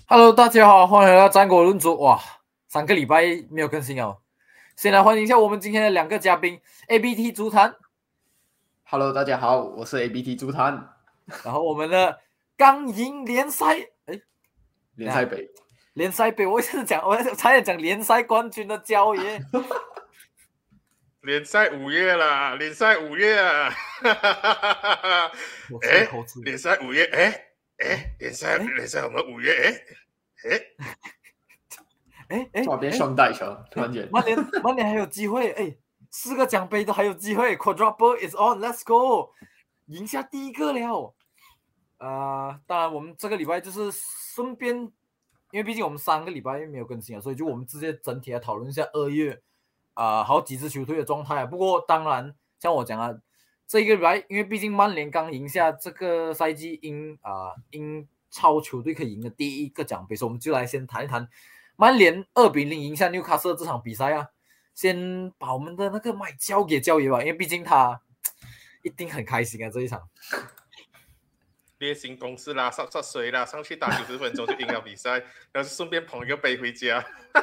Hello，大家好，欢迎来到战果论足。哇，3个礼拜没有更新哦。先来欢迎一下我们今天的2个嘉宾 ，ABT 足坛。 Hello，大家好，我是 ABT 足坛。 然后我们的刚赢联赛， 联赛杯， 联赛杯，我差点讲联赛冠军的焦爷。 联赛5月啦，联赛5月啊！联赛5月，联赛我们5月， 突然变双带球，突然间。 曼联还有机会，4个奖杯都还有机会 ，Quadruple is on，Let's go， 赢下第一个了。当然我们这个礼拜就是顺便，因为毕竟我们3个礼拜没有更新啊，所以就我们直接整体来讨论一下2月好几支球队的状态啊。不过当然像我讲啊，这一个礼拜因为毕竟曼联刚赢下这个赛季英超球队可以赢的第一个奖杯，所以我们就来先谈一谈曼联2-0赢下纽卡斯这场比赛啊。先把我们的那个麦交给焦爷吧，因为毕竟他一定很开心啊这一场。 例行公事啦，上水啦，上去打90分钟就赢了比赛，然后顺便捧一个杯回家。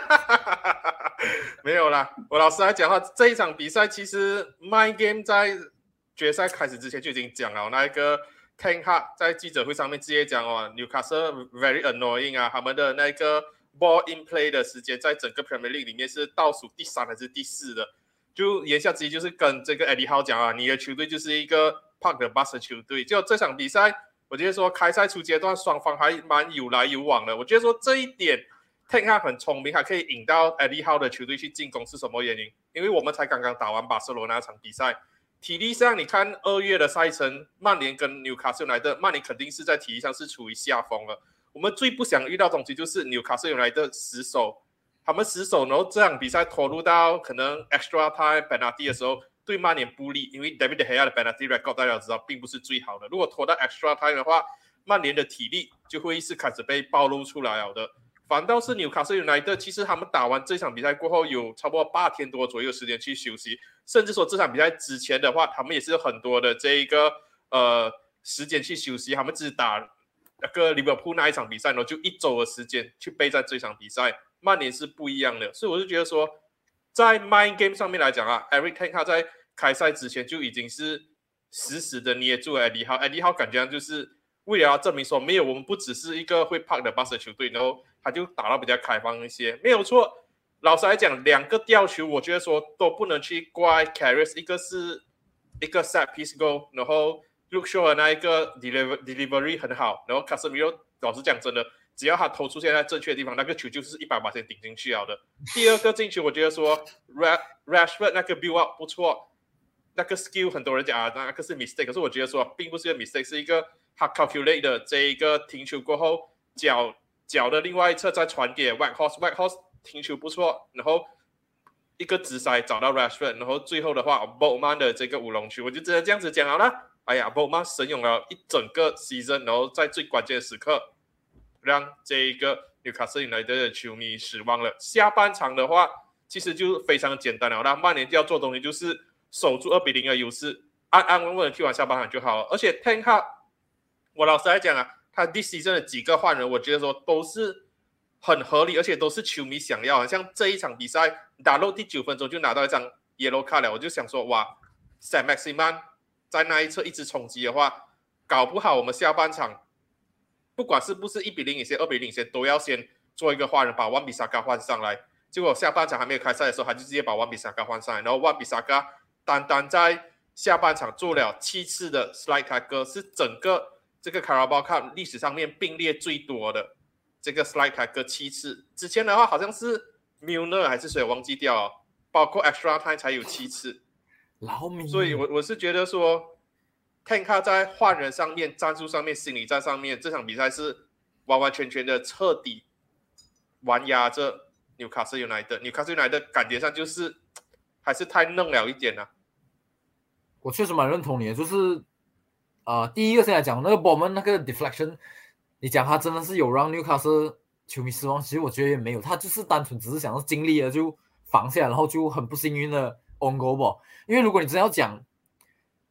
没有啦，我老实来讲的话，这一场比赛其实 My Game 在决赛开始之前就已经讲了，那一个 Ten Hag 在记者会上面直接讲Newcastle very annoying 啊，他们的那个 ball in play 的时间在整个 Premier League 里面是倒数第3还是第4的，就言下之意就是跟这个 Eddie Howe 讲啊，你的球队就是一个 Park the Bus 的球队。就这场比赛，我觉得说开赛初阶段双方还蛮有来有往的，我觉得说这一点 Ten Hag 很聪明，还可以引到 Eddie Howe 的球队去进攻，是什么原因？因为我们才刚刚打完巴塞罗那场比赛，体力上你看2月的赛程，曼联跟纽卡斯尤莱特，曼联肯定是在体力上是处于下风了。我们最不想遇到的东西就是纽卡斯尤莱特死守，他们死守，然后这场比赛拖入到可能 extra time penalty 的时候，对曼联不利，因为 David De Gea 的 penalty record 大家知道并不是最好的。如果拖到 extra time 的话，曼联的体力就会是开始被暴露出来了的。反倒是纽卡斯尤莱特，其实他们打完这场比赛过后，有差不多8天多左右时间去休息，甚至说这场比赛之前的话，他们也是有很多的这一个时间去休息，他们只打那个利物浦那一场比赛，然后就1周的时间去备战这场比赛。曼联是不一样的，所以我就觉得说，在 Mind Game 上面来讲啊 ，Eric Ten Hag 在开赛之前就已经是死死的捏住了 Eddie Howe， Eddie Howe 感觉就是为了要证明说，没有，我们不只是一个会 park 的 bus 的球队，然后他就打到比较开放一些，没有错。老实来讲，2个吊球，我觉得说都不能去怪 Karius， 一个是一个 set piece goal， 然后 Luke Shaw 的那一个 delivery 很好，然后 Casemiro 老实讲真的，只要他头出现在正确的地方，那个球就是 100% 顶进去了的。第2个进球，我觉得说 Rashford 那个 build up 不错，那个 skill 很多人讲那个是 mistake， 可是我觉得说并不是一个 mistake， 是一个他 calculate 的这一个停球过后，脚的另外一侧再传给 Whitehorse 停球不错，然后一个直塞找到 Rashford， 然后最后的话 Botman 的这个乌龙球，我就只能这样子讲好了。哎呀 Botman 神勇了一整个 season， 然后在最关键的时刻让这一个纽卡斯尤莱特的球迷失望了。下半场的话其实就非常简单了，那曼联要做东西就是守住2-0的优势，安安稳稳的踢完下半场就好了。而且 Ten Hag 我老实来讲啊，他 this season 的几个换人，我觉得说都是很合理，而且都是球迷想要的。像这一场比赛打到第9分钟就拿到一张 yellow card 了，我就想说哇 Saint-Maximin 在那一侧一直冲击的话，搞不好我们下半场不管是不是1-0领先2-0领先，都要先做一个换人，把万比萨卡换上来。结果下半场还没有开赛的时候，他就直接把万比萨卡换上来，然后万比萨卡单单在下半场做了7次的 slide tackle， 是整个这个 Carabao Cup 历史上面并列最多的这个 slide tackle 7次。之前的话好像是 Milner 还是谁忘记掉了，包括 extra time 才有7次。所以我是觉得说 Ten Hag 在换人上面、战术上面、心理战上面，这场比赛是完完全全的彻底完压着纽卡斯尤莱特。纽卡斯尤莱特感觉上就是还是太嫩了一点啊。 我确实蛮认同你的，就是第一个先来讲那个 Bowman 那个 deflection， 你讲他真的是有让纽卡斯球迷失望，其实我觉得也没有，他就是单纯只是想要尽力了就防下，然后就很不幸运的 on goal 吧。因为如果你真要讲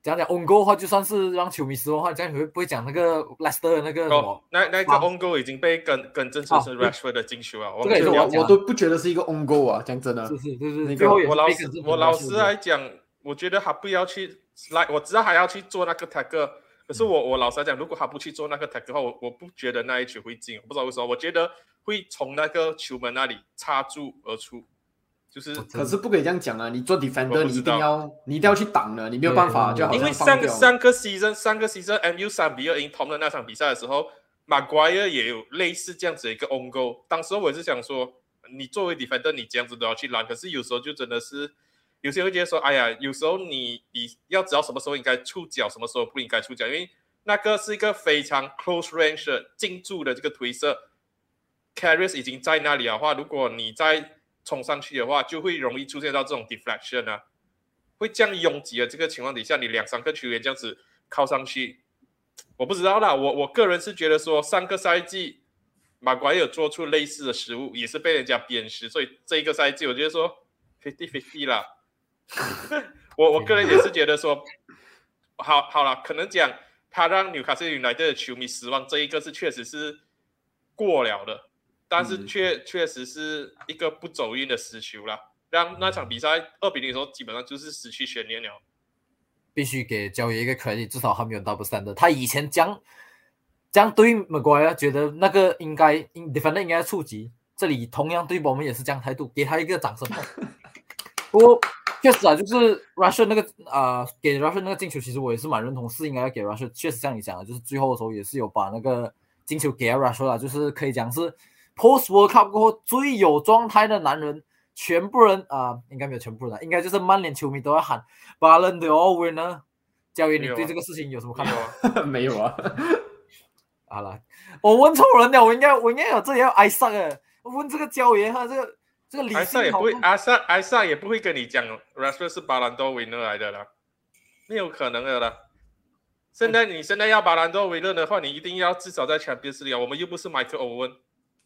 讲 on goal 的话，就算是让球迷失望的话，这样你会不会讲那个 Leicester 的那个什么？ 那个 on goal 已经被更正成是 Rashford 的进球啊！ 这个也是我都不觉得是一个 on goal 啊，讲真的。 是，最后也是我老实来讲，我觉得他不要去我知道他要去做那个 tackle， 可是我老实来讲，如果他不去做那个 tackle 的话，我不觉得那一球会进，我不知道为什么，我觉得会从那个球门那里插柱而出。就是， 可是不可以这样讲啊！你做 defender， 你一定要去挡的，你没有办法，就好像因为上个 season MU 3-2赢 Tom 的那场比赛的时候 ，Maguire 也有类似这样子的一个 on goal。当时我也是想说，你作为 defender， 你这样子都要去拦，可是有时候就真的是，有些人会觉得说，哎呀，有时候你要知道什么时候应该触脚，什么时候不应该触脚，因为那个是一个非常 close range 的近注的这个推射 ，Karius 已经在那里的话，如果你在冲上去的话，就会容易出现到这种 deflection 啊，会这样拥挤的这个情况底下，你2-3个球员这样子靠上去，我不知道啦。我个人是觉得说，上个赛季马奎尔做出类似的失误，也是被人家鞭尸，所以这一个赛季我觉得说 50-50 啦。我个人也是觉得说，好啦，可能讲他让Newcastle United 的球迷失望，这一个是确实是过了的。但是确实是一个不走运的失球啦，让那场比赛2-0的时候基本上就是失去悬念了。 必须给交爷一个 credit， 至少他没有 double standard。他以前这样对 Maguire 觉得那个应该 defender 应该触及，这里同样对我们也是这样态度，给他一个掌声。不过确实啊，就是 Rashford 那个给 Rashford 那个进球，其实我也是蛮认同，是应该要给 Rashford。确实像你讲的，就是最后的时候也是有把那个进球给 Rashford 啦，就是可以讲是。Post World Cup 过后最有状态的男人，全部人应该没有全部人，应该就是曼联球迷都要喊 Ballon d'Or winner。教练，你对这个事情有什么看法？ 没有啊。 好了，我问错人了，我应该有这里要挨上的。我问这个教练，他这个理性挨上也不会，挨上也不会跟你讲 Rashford 是 Ballon d'Or winner 来的啦，没有可能的啦。现在要Ballon d'Or winner的话，你一定要至少在 Champions League， 我们又不是 Michael Owen。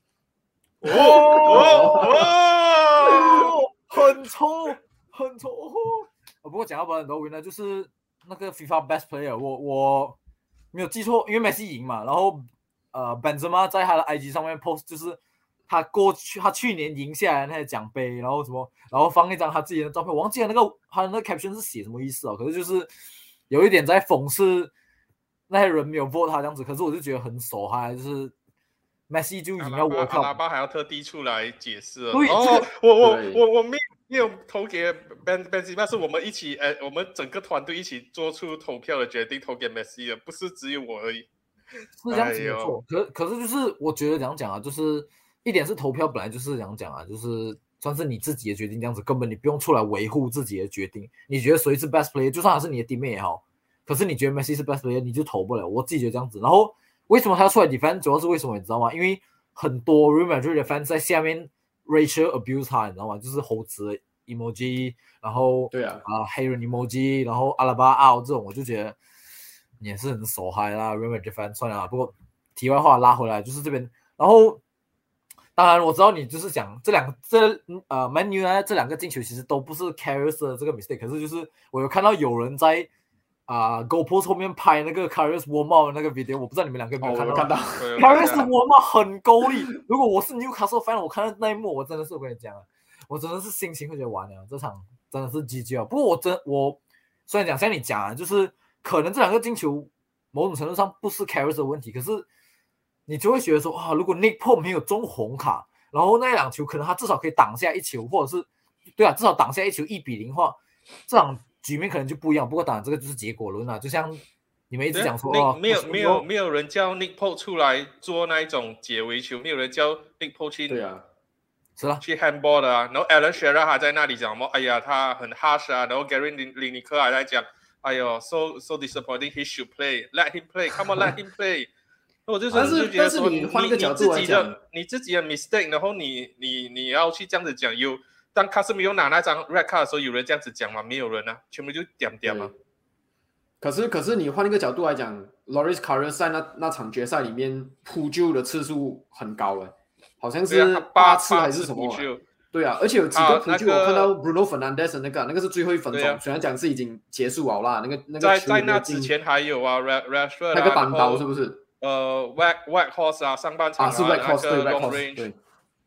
很臭。不过讲到Ballon d'Or winner，就是那个 FIFA Best Player， 我没有记错，因为 Messi 赢嘛，然后Benzema 在他的 IG 上面 post， 就是他去年赢下来那些奖杯，然后什么，然后放一张他自己的照片，我忘记了他的那个 caption 是写什么意思哦，可是就是有一点在讽刺那些人没有 vote 他这样子，可是我就觉得很手嗨，就是。Messi 就赢了World Cup， 阿巴还要特地出来解释了。 对， 我没有投给 Benzema， 是我们一起我们整个团队一起做出投票的决定，投给 Messi 的，不是只有我而已。 是这样子没错，可是就是我觉得这样讲啊，就是一点是投票本来就是这样讲啊，就是算是你自己的决定，这样子根本你不用出来维护自己的决定。你觉得谁是 best player， 就算他是你的 teammate 也好，可是你觉得 Messi 是 best player， 你就投不了。我自己觉得这样子，然后。为什么他要出来 defend？ 主要是为什么你知道吗？因为很多 Real Madrid 的 fans 在下面 racial abuse 他，你知道吗？就是猴子 emoji， 然后对啊黑人 emoji， 然后阿拉巴奥这种，我就觉得也是很手嗨啦。Real Madrid fans 算了啦，不过题外话拉回来，就是这边，然后当然我知道你就是讲Man U 这两个进球其实都不是 Karius 的这个 mistake， 可是就是我有看到有人在。GoPro 后面拍那个 Karius warm up 的那个 video， 我不知道你们两个有没有看到。 看到 Karius warm up 很够力。如果我是 Newcastle fan， 我看到那一幕，我真的是我跟你讲，我真的是心情会觉得完了，这场真的是 GG 啊。不过我虽然讲像你讲啊，就是可能这两个进球某种程度上不是 Karius 的问题，可是你就会觉得说如果 Nick Pope 没有中红卡，然后那两球可能他至少可以挡下一球，或者是对啊，至少挡下一球1-0的话，这场。局面可能就不一样，不过当然这个就是结果论啦。就像你们一直讲说， 没有人叫 Nick Pope 出来做那一种解围球，没有人叫 Nick Pope 去对啊， 是啊， 去 handball 的啊。然后 Alan Shearer 还在那里讲哎呀他很 harsh 啊，然后 Gary Lineker 还在讲，哎呦 so disappointing he should play let him play come on let him play。我就觉得说你换一个角度来讲， 你自己的 mistake， 然后你要去这样子讲当卡斯米有拿那张 red card 的时候，有人这样子讲吗？没有人啊，全部就点啊。 可是你换一个角度来讲 ，Loris Karius 在那场决赛里面扑救的次数很高好像是8次还是什么？ 对啊，而且有几个那扑救，我看到 Bruno Fernandes 的那个是最后1分钟，虽然讲是已经结束了啦，那个在那之前还有啊 Rashford 那个单刀是不是 ？White Horse 啊，上半场是 White Horse 对 Long White Horse Range 对，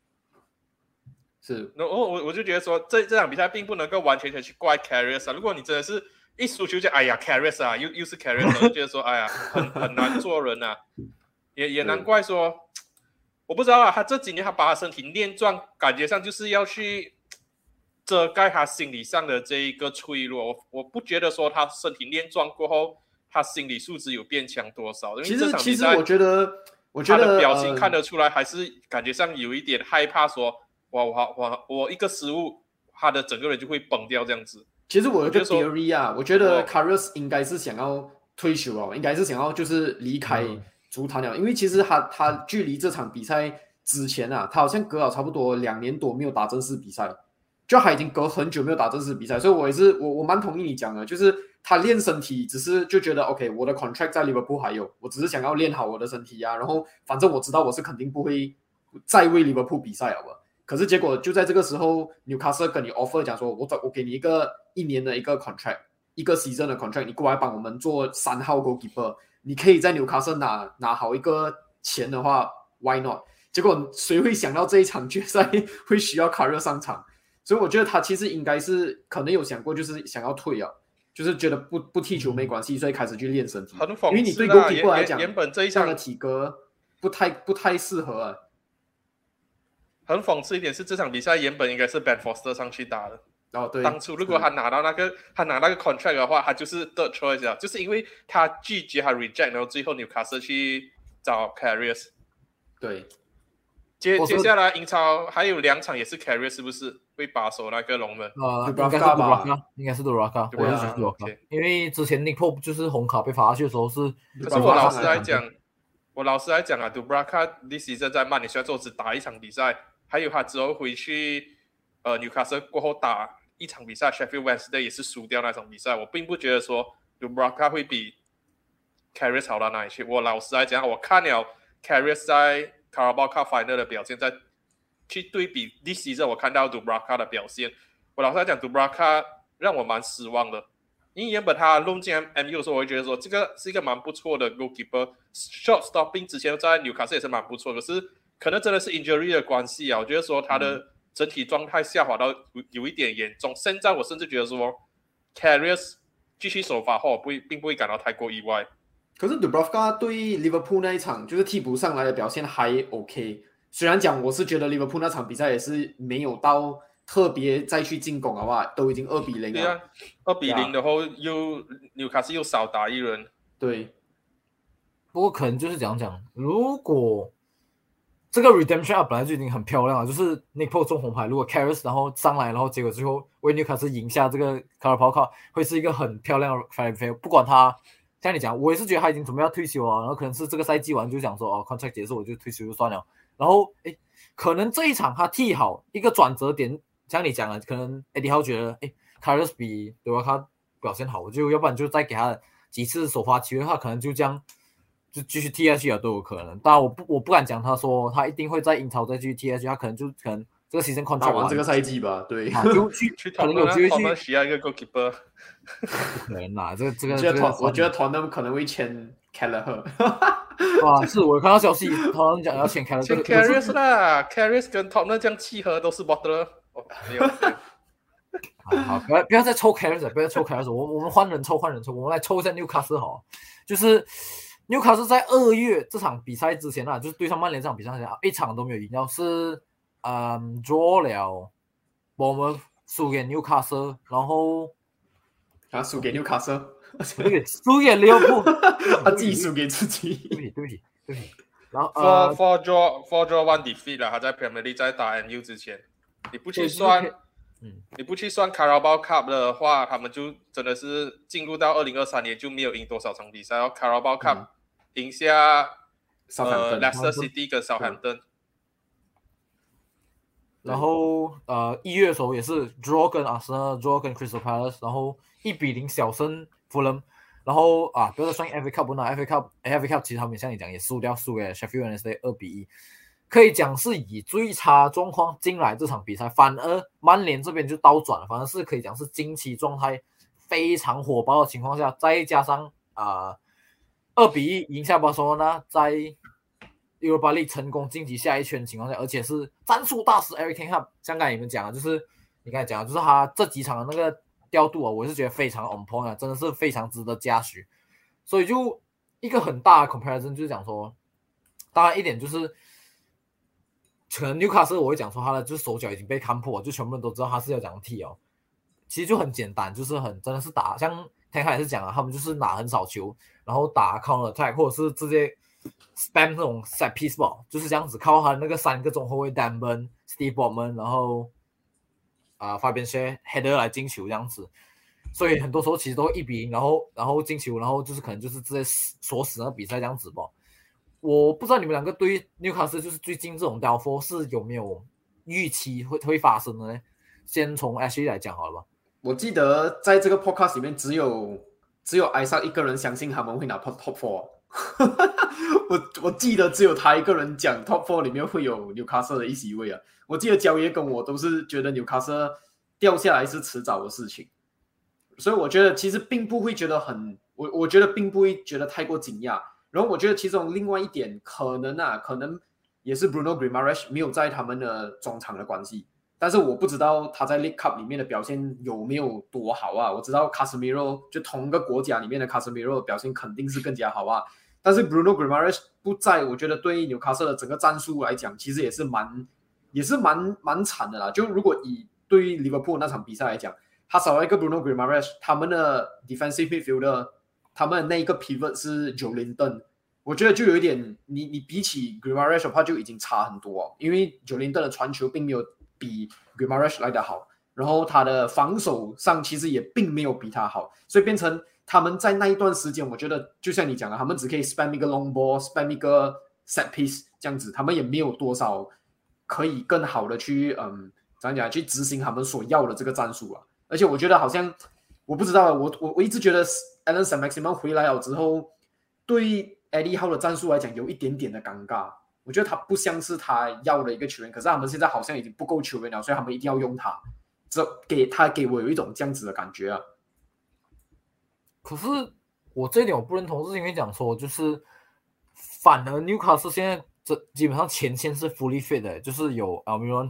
是。 然后我就觉得说这场比赛并不能够完全去怪 Karius 啊，如果你真的是一输球就哎呀 Karius 啊，又是 Karius， 我就觉得说哎呀很难做人啊，也难怪说。我不知道啊，他这几年他把他身体练壮，感觉上就是要去遮盖他心理上的这一个脆弱。我不觉得说他身体练壮过后，他心理素质有变强多少。因为这场比赛我觉得他的表情看得出来，还是感觉上有一点害怕说，我一个失误，他的整个人就会崩掉这样子。 其实我有个 theory 啊，我觉得 Karius 应该是想要退休哦，应该是想要就是离开足坛了，因为其实他距离这场比赛之前啊，他好像隔了差不多2年多没有打正式比赛，就他已经隔很久没有打正式比赛，所以我蛮同意你讲的，就是他练身体只是就觉得 OK， 我的 contract 在 Liverpool 还有，我只是想要练好我的身体啊，然后反正我知道我是肯定不会再为 Liverpool 比赛了吧。可是结果就在这个时候 ，Newcastle 跟你 offer 讲说，我给你1年的一个 contract， 1个 season 的 contract， 你过来帮我们做3号 goalkeeper， 你可以在 Newcastle 拿好一个钱的话 ，why not？ 结果谁会想到这一场决赛会需要卡热上场？所以我觉得他其实应该是可能有想过，就是想要退啊，就是觉得不踢球没关系，所以开始去练身体。 很讽刺啊， 因为你对 goalkeeper 来讲， 原本这一场的体格不太适合啊。 很讽刺一点是，这场比赛原本应该是 Ben Foster 上去打的。 对， 当初如果他拿那个 contract 的话，他就是 third choice 啊，就是因为他拒绝他 reject， 然后最后 Newcastle 去找 Karius。 对， 接下来英超还有2场也是 Karius 是不是会把守那个龙门？ 应该是 Dubravka， 我也是 Dubravka， 因为之前 Nick Pope 就是红卡被罚下去的时候是。 可是我老实来讲啊 ，Dubravka this season 在曼联虽然说只打1场比赛。还有他之后回去Newcastle 过后打1场比赛 Sheffield Wednesday 也是输掉那场比赛，我并不觉得说 Dubravka 会比 Karius 好到哪里去。我老实来讲，我看了 Karius 在 Carabao Cup Final 的表现，再去对比 this season 我看到 Dubravka 的表现，我老实来讲 Dubravka 让我蛮失望的。因为原本他弄进 MU 的时候，我会觉得说这个是一个蛮不错的 goalkeeper， shot stopping 之前在 Newcastle 也是蛮不错的，可是可能真的是 injury 的关系啊，我觉得说他的整体状态下滑到有一点严重。现在我甚至觉得说 Karius 继续首发后，并不会感到太过意外。 可是 Dubravka 对 Liverpool 那一场就是替补上来的表现还 OK， 虽然讲我是觉得 Liverpool 那场比赛也是没有到特别再去进攻的话，都已经2-0了。 对啊，2-0的后又 Newcastle 又少打1人。 对， 不过可能就是讲，如果这个 redemption up 本来就已经很漂亮了，就是 Nick Pope 中红牌，如果 Karius 然后上来，然后结果最后为 Newcastle 赢下这个 Carabao Cup， 会是一个很漂亮的 fire fail。不管他像你讲，我也是觉得他已经准备要退休了，然后可能是这个赛季完就想说contract 结束我就退休就算了。然后可能这一场他踢好一个转折点，像你讲的，可能 Eddie Howe 觉得Karius 比对吧他表现好，我就要不然就再给他几次首发机会的话，可能就这样。就继续踢下去都有可能，当然我不敢讲他说他一定会在英超再继续踢下去，他可能这个 season contract 打完这个赛季吧，对， 就去可能有机会去需要一个 goalkeeper， 不可能啦，这个我觉得 Tottenham 可能会签 Kelleher， 是我看到消息，Tottenham 讲要签 Kelleher， 签 Karius 啦 ，Karius 跟 Tottenham 这样契合都是 Butler， 没有。 好，不要再抽 Karius， 不要再抽 Karius， 我们换人抽，我们来抽一下 Newcastle 好，就是。Newcastle 在2月这场比赛之前啊，就是对上曼联这场比赛之前1场都没有赢掉，是draw 了 Bournemouth 输给 Newcastle， 然后输给 Newcastle， 输给利物浦， 他自己输给自己， 对不起。然后 4 draw 1 defeat 了，他在 Premier League 在打 MU 之前，你不去算 Carabao Cup 的话，他们就真的是进入到2023年就没有赢多少场比赛，然后 Carabao Cup 赢下Leicester City 跟 Southampton， 然后1月的时候也是 draw 跟 Arsenal，draw 跟 Crystal Palace， 然后1-0小胜 Fulham， 然后不要再算 FA Cup 不拿 FA Cup 其实他们像你讲也输给 Sheffield Wednesday 2-1， 可以讲是以最差状况进来这场比赛，反而曼联这边就倒转了，反而是可以讲是近期状态非常火爆的情况下，再加上2-1赢下巴塞罗那，在 Europa League 成功晋级下一圈的情况下，而且是战术大师 Eric Ten Hag， 像刚才你们讲的，就是你刚才讲的，就是他这几场的那个调度啊，我是觉得非常 on point 啊，真的是非常值得嘉许。所以就一个很大的 comparison 就是讲说，当然一点就是。可能纽卡斯我会讲说他的就是手脚已经被看破，就全部人都知道他是要这样踢哦。其实就很简单，就是真的是打，像天海也是讲啊，他们就是拿很少球，然后打 counter attack 或者是直接 spam 那种 set piece ball， 就是这样子靠他那个3个中后卫 Danburn、Steve Botman， 然后Fabian Schär header 来进球这样子。所以很多时候其实都会1-0，然后进球，然后就是可能就是直接锁死那个比赛这样子吧。我不知道你们两个对纽卡斯就是最近这种 downfall 是有没有预期会发生的呢？先从 Ashley 来讲好了吧。 我记得在这个 podcast 里面只有艾莎一个人相信他们会拿 top 4 我记得只有他一个人讲 top 4里面会有纽卡斯的一席位啊。我记得焦爷跟我都是觉得纽卡斯掉下来是迟早的事情，所以我觉得其实并不会觉得我觉得并不会觉得太过惊讶。然后我觉得其中另外一点可能也是 Bruno Guimaraes 没有在他们的中场的关系，但是我不知道他在 League Cup 里面的表现有没有多好啊。我知道 Casemiro 就同一个国家里面的 Casemiro 的表现肯定是更加好啊，但是 Bruno Guimaraes 不在，我觉得对纽卡斯的整个战术来讲其实也是蛮惨的啦。就如果对于 Liverpool 那场比赛来讲，他少了一个 Bruno Guimaraes， 他们的 defensive midfielder， 他们的那一个 pivot 是 Joelinton， 我觉得就有一点你比起 Guimaraes 的话就已经差很多哦，因为 Joelinton 的传球并没有比 Guimaraes 来得好，然后他的防守上其实也并没有比他好，所以变成他们在那一段时间，我觉得就像你讲的，他们只可以 spam 一个 long ball，spam 一个 set piece 这样子，他们也没有多少可以更好的去去执行他们所要的这个战术啊。而且我觉得好像我不知道，我一直觉得 Allan Saint-Maximin 回来了之后，对 Eddie Howe 的战术来讲有一点点的尴尬。我觉得他不像是他要的一个球员，可是他们现在好像已经不够球员了，所以他们一定要用他。给我有一种这样子的感觉啊。 可是我这一点我不认同，是因为讲说就是反而 Newcastle 现在基本上前线是 fully fit 的，就是有 Almiron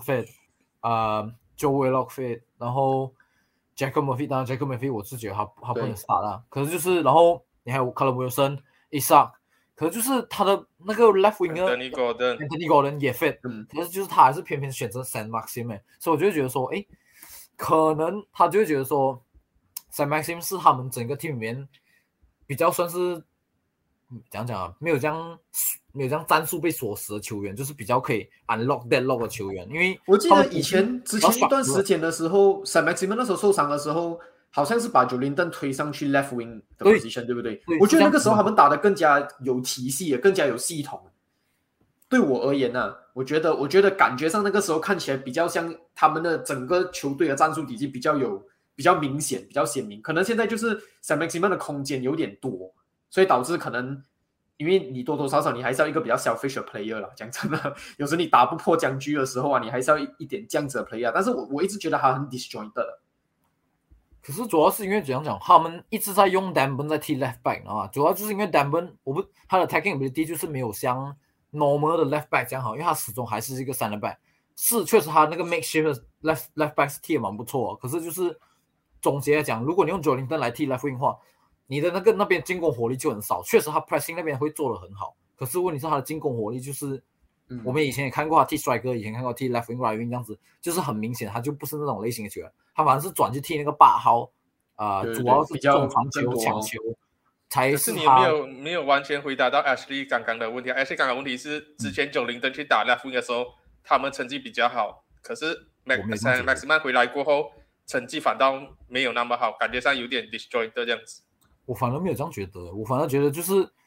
fit，Joe Willock fit， 然后 Jacob Murphy， 当然 Jacob Murphy 我是觉得他不能 start 啦，可是就是然后你还有 Callum Wilson、Isak， 可是就是他的那个 left winger Anthony Gordon 也 fit， 可是就是他还是偏偏选择 Saint-Maximin， 所以我就会觉得说，可能他就会觉得说 Saint-Maximin 是他们整个 team 里面比较算是讲啊，没有这样战术被锁死的球员，就是比较可以 unlock deadlock 的球员。因为我记得之前一段时间的时候 Saint-Maximin 那时候受伤的时候，好像是把 Joelinton 推上去 left wing 的 position， 对不对？我觉得那个时候他们打得更加有体系，更加有系统。对我而言呢，我觉得感觉上那个时候看起来比较像他们的整个球队的战术体系比较明显、比较鲜明。可能现在就是 Saint-Maximin 的空间有点多，所以导致可能因为你多多少少你还是要一个比较 selfish 的 player 啦。讲真的，有时你打不破僵局的时候啊，你还是要一点这样子的 player。但是我一直觉得他很 disjointed。 可是主要是因为怎样讲，他们一直在用 Danburn 在踢 left back 啊，主要就是因为 Danburn 他的 attacking ability 就是没有像 normal 的 left back 这样好，因为他始终还是一个3人 back。是确实他那个 makeshift left back 是踢得蛮不错，可是就是总结来讲，如果你用 Joelinton 来踢 left wing 的话，你的那边进攻火力就很少。确实他 pressing 那边会做得很好，可是问题是他的进攻火力就是我们以前也看过他踢 striker， 以前看过踢 left wing right wing 这样子，就是很明显他就不是那种类型的球员，他反而是转去踢那个8号主要是中传球抢球才是他。 可是你没有完全回答到 Ashley 刚刚的问题。 Ashley 刚刚问题是之前Joelinton去打 left wing 的时候他们成绩比较好，可是 Maximin 回来过后成绩反倒没有那么好，感觉上有点 disjointed 这样子。我反而没有这样觉得，我反而觉得就是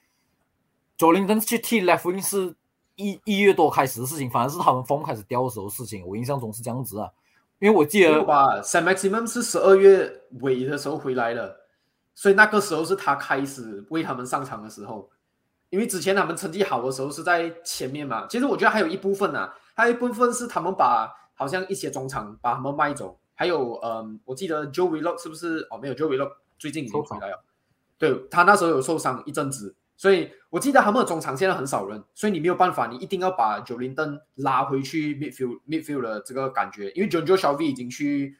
Joelinton 去踢 left wing 是1月多开始的事情，反而是他们风开始掉的时候的事情，我印象中是这样子啊。因为我记得吧 Saint-Maximin 是12月尾的时候回来了，所以那个时候是他开始为他们上场的时候。 因为之前他们成绩好的时候是在前面嘛。其实我觉得还有一部分啊，还有一部分是他们把好像一些中场把他们卖走，还有我记得 Joe Willock 是不是？哦，没有 Joe Willock 最近已经回来了，对他那时候有受伤一阵子，所以我记得他们的中场现在很少人，所以你没有办法，你一定要把九林登拉回去 midfield 的这个感觉，因为 Jonjo Shelvey 已经去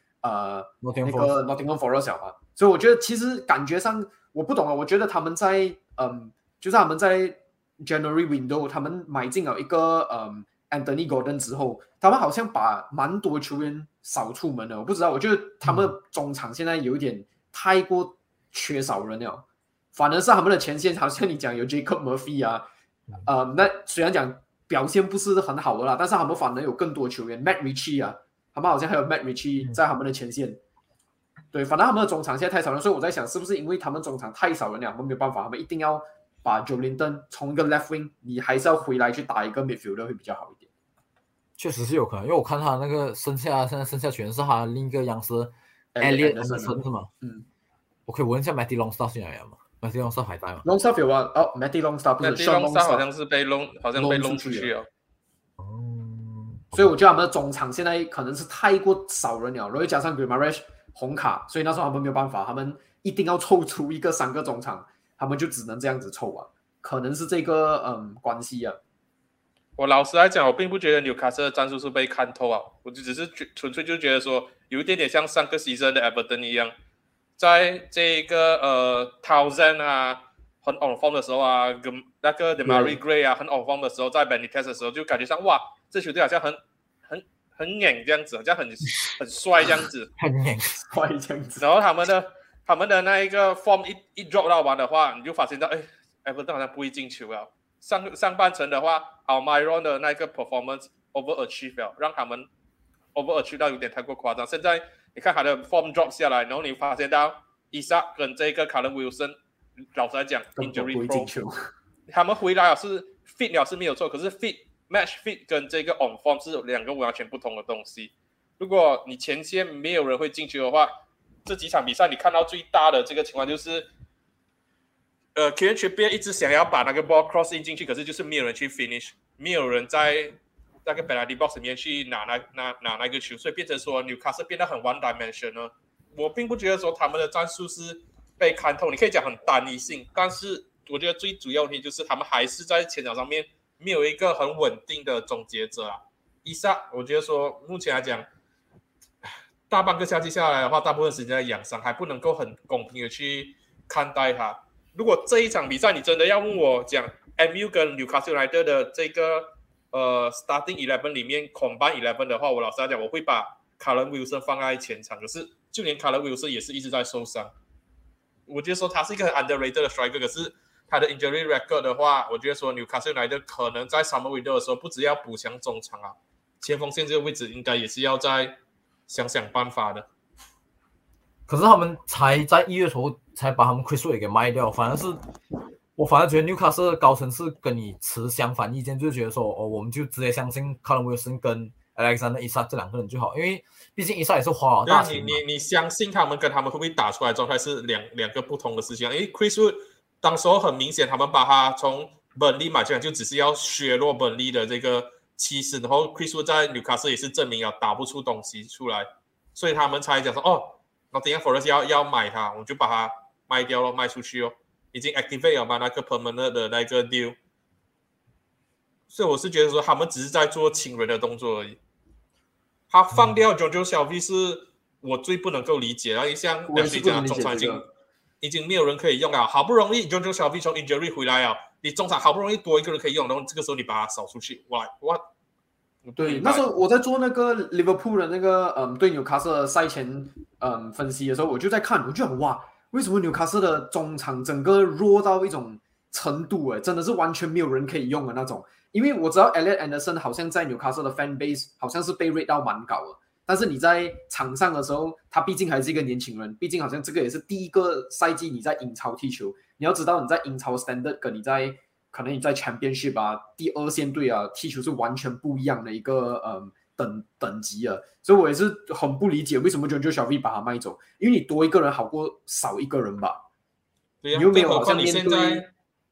Nottingham Forest 了嘛，所以我觉得其实感觉上我不懂啊，我觉得他们在就是他们在 January window 他们买进了一个Anthony Gordon 之后，他们好像把蛮多球员扫出门了，我不知道，我觉得他们中场现在有一点太过缺少人了，反而是他们的前线好像你讲有 Jacob Murphy 啊，那虽然讲表现不是很好的啦，但是他们反而有更多球员 Matt Ritchie 啊，他们好像还有 Matt Ritchie 在他们的前线。对，反正他们的中场现在太少人，所以我在想，是不是因为他们中场太少人了，他们没有办法，他们一定要把 Joelinton 从一个 left wing， 你还是要回来去打一个 midfielder 会比较好一点。 确实是有可能，因为我看他那个现在剩下全是他另一个样式 Elliot Anderson 是吗？我可以问一下 Matty Longstaff 进来了吗 ？Matty Longstaff 还在吗 ？Longstaff 有啊，Matty Longstaff 不是 Matty Longstaff 好像是被弄出去了。 所以我觉得他们的中场现在可能是太过少人了，然后加上 Guimaraes 红卡，所以那时候他们没有办法，他们一定要凑出一个3个中场，他们就只能这样子凑啊，可能是这个关系啊。 我老实来讲，我并不觉得纽卡斯的战术是被看透啊，我就只是纯粹就觉得说，有一点点像上个 season 的 Everton 一样，在这个Townsend 啊很 on form 的时候啊，跟那个 Demarai Gray 啊很 on form 的时候，在 Benitez 的时候就感觉上哇，这球队好像很硬这样子，好像很帅这样子， 很硬帅这样子。 然后他们的那一个 form 一 drop 到完的话，你就发现到Everton 好像不会进球了。上半程的话 Almiron 的那个 performance overachieve 了，让他们 overachieve 到有点太过夸张。现在你看他的 form drop 下来，然后你发现到 Isak 跟这个 Callum Wilson， 老实来讲 injury pro， 他们回来是 fit 了是没有错，可是 match fit 跟这个 on form 是2个完全不同的东西。如果你前线没有人会进球的话，这几场比赛你看到最大的这个情况就是Kieran Trippier 一直想要把那个 ball cross in 进去，可是就是没有人去 finish， 没有人在那个 penalty box 里面去拿那个球，所以变成说 Newcastle 变得很 one dimensional。我并不觉得说他们的战术是被看透，你可以讲很单一性，但是我觉得最主要问题就是他们还是在前场上面没有一个很稳定的终结者啊。Isak 我觉得说目前来讲，大半个夏季下来的话，大部分时间在养伤，还不能够很公平的去看待他。如果这一场比赛你真的要问我讲 MU 跟 Newcastle United 的这个starting 11里面 combine 11的话，我老实来讲，我会把 Callum Wilson 放在前场，可是就连 Callum Wilson 也是一直在受伤。我觉得说他是一个很 underrated 的 striker， 可是他的 injury record 的话，我觉得说 Newcastle United 可能在 summer window 的时候，不只要补强中场啊，前锋线这个位置应该也是要再想办法的。 可是他们才在1月头才把他们 Chris Wood 给卖掉，我反而觉得 Newcastle 的高层是跟你持相反意见，就觉得说我们就直接相信 Callum Wilson 跟 Alexander Isak 这2个人就好，因为毕竟 Isak 也是花了大钱嘛。 你相信他们跟他们会不会打出来状态是两个不同的事情，因为 Chris Wood 当时候很明显，他们把他从本利买进来就只是要削弱本利的这个气势，然后 Chris Wood 在 Newcastle 也是证明了打不出东西出来，所以他们才讲说Nottingham Forest 要买他，我就把他卖掉了，卖出去哦，已经 activate 了嘛那个 permanent 的那个 deal， 所以我是觉得说他们只是在做亲人的动作而已。他放掉 Jonjo Shelvey 是我最不能够理解，然后像两队讲中场已经没有人可以用了，好不容易 Jonjo Shelvey 从 injury 回来了，你中场好不容易多一个人可以用，然后这个时候你把他扫出去，哇！ 对，那时候我在做那个 Liverpool 的那个对纽卡斯的赛前分析的时候，我就在看，我就想哇，为什么纽卡斯的中场整个弱到一种程度真的是完全没有人可以用的那种。因为我知道 Elliot Anderson 好像在纽卡斯的 fan base 好像是被 rate 到蛮高的，但是你在场上的时候，他毕竟还是一个年轻人，毕竟好像这个也是第一个赛季你在英超踢球，你要知道你在英超 standard 跟可能你在 Championship 啊第2线队啊踢球是完全不一样的一个等级啊，所以我也是很不理解为什么 Jonjo Shelvey 把他卖走，因为你多一个人好过少一个人吧。 对呀， 你又没有好像面对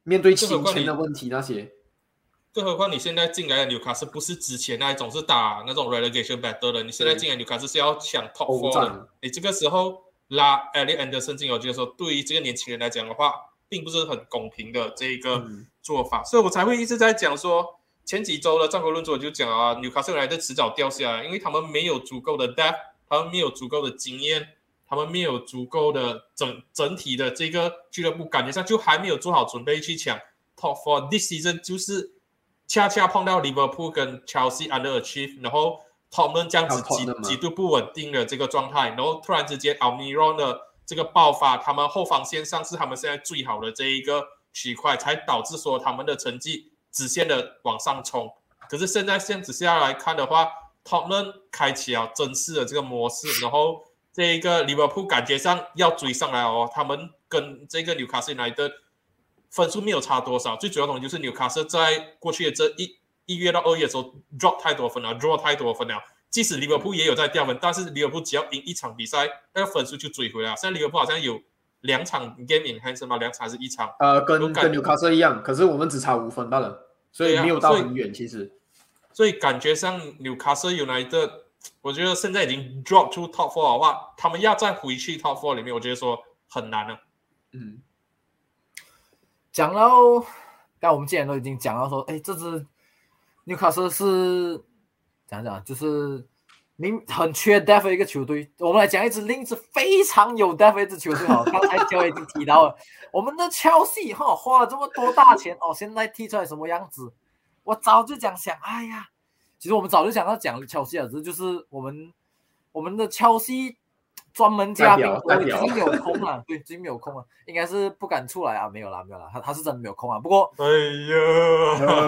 面对金钱的问题那些。 更何况你现在进来的纽卡斯不是之前那一种是打那种 relegation battle 的，你现在进来纽卡斯是要抢 top 4的，你这个时候拉 Elliot Anderson 进，我觉得说对于这个年轻人来讲的话，并不是很公平的这一个做法，所以我才会一直在讲说，前几周的战国论作就讲啊，纽卡斯来的迟早掉下来，因为他们没有足够的 depth， 他们没有足够的经验，他们没有足够的整体的这个俱乐部感觉上就还没有做好准备去抢 top 4。 This season 就是恰恰碰到 Liverpool 跟 Chelsea underachieve， 然后 Tottenham 这样子极度不稳定的这个状态，然后突然之间 Almiron 的这个爆发，他们后防线上是他们现在最好的这一个区块，才导致说他们的成绩直线的往上冲。可是现在这样子下来看的话， Tottenham 开启了正式的这个模式，然后这一个 Liverpool 感觉上要追上来哦，他们跟这个 Newcastle United 分数没有差多少，最主要的东西就是 Newcastle 在过去的这一月到2月的时候 drop 太多分了 draw 太多分了，即使 Liverpool 也有在掉分，但是 Liverpool 只要赢一场比赛，那个分数就追回来了。现在 Liverpool 好像有2场 game in hand 吗？2场还是1场？ 跟 Newcastle 一样，可是我们只差5分罢了，所以没有到很远其实。 所以感觉上 Newcastle United 我觉得现在已经 drop to top 4的话，他们要再回去 top 4里面，我觉得说很难了。 讲到刚才我们既然都已经讲到说，这支 Newcastle 是讲就是很缺 depth 的一个球队，我们来讲一支另一支非常有 depth 的一支球队好，刚才就已经提到了我们的 Chelsea 花了这么多大钱现在踢出来什么样子，我早就想哎呀，其实我们早就想要讲 Chelsea 了，就是我们的 Chelsea 专门嘉宾最近没有空了，对，最近没有空了，应该是不敢出来啊，没有啦，他是真的没有空啊。不过， 哎呀，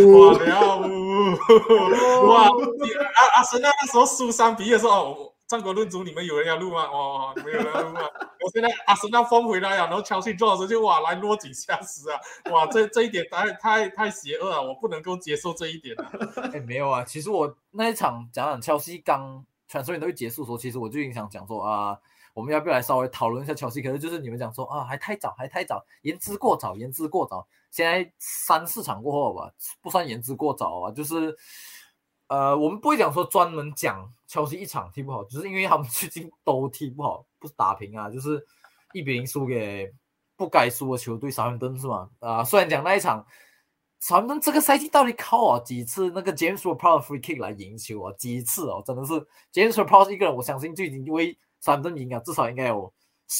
哇，阿森纳那时候输3-1的时候，战国论足你们有人要录吗？你们有人要录吗？我现在阿森纳疯回来了，然后Chelsea draw的时候就哇来落井下石啊，哇这一点太邪恶了，我不能够接受这一点啊。 没有啊，其实我那一场讲Chelsea刚transfer window结束的时候，其实我就已经想讲说我们要不要来稍微讨论一下Chelsea？可是就是你们讲说还太早，言之过早。现在3-4场过后吧，不算言之过早啊，就是我们不会讲说专门讲Chelsea一场踢不好，就是因为他们最近都踢不好，不是打平啊，就是1-0输给不该输的球队Southampton是吗？虽然讲那一场。Southampton 这个赛季到底靠几次那个 James Ward-Prowse free kick 来赢球几次真的是 James Ward-Prowse 一个人，我相信就已经为Southampton赢至少应该有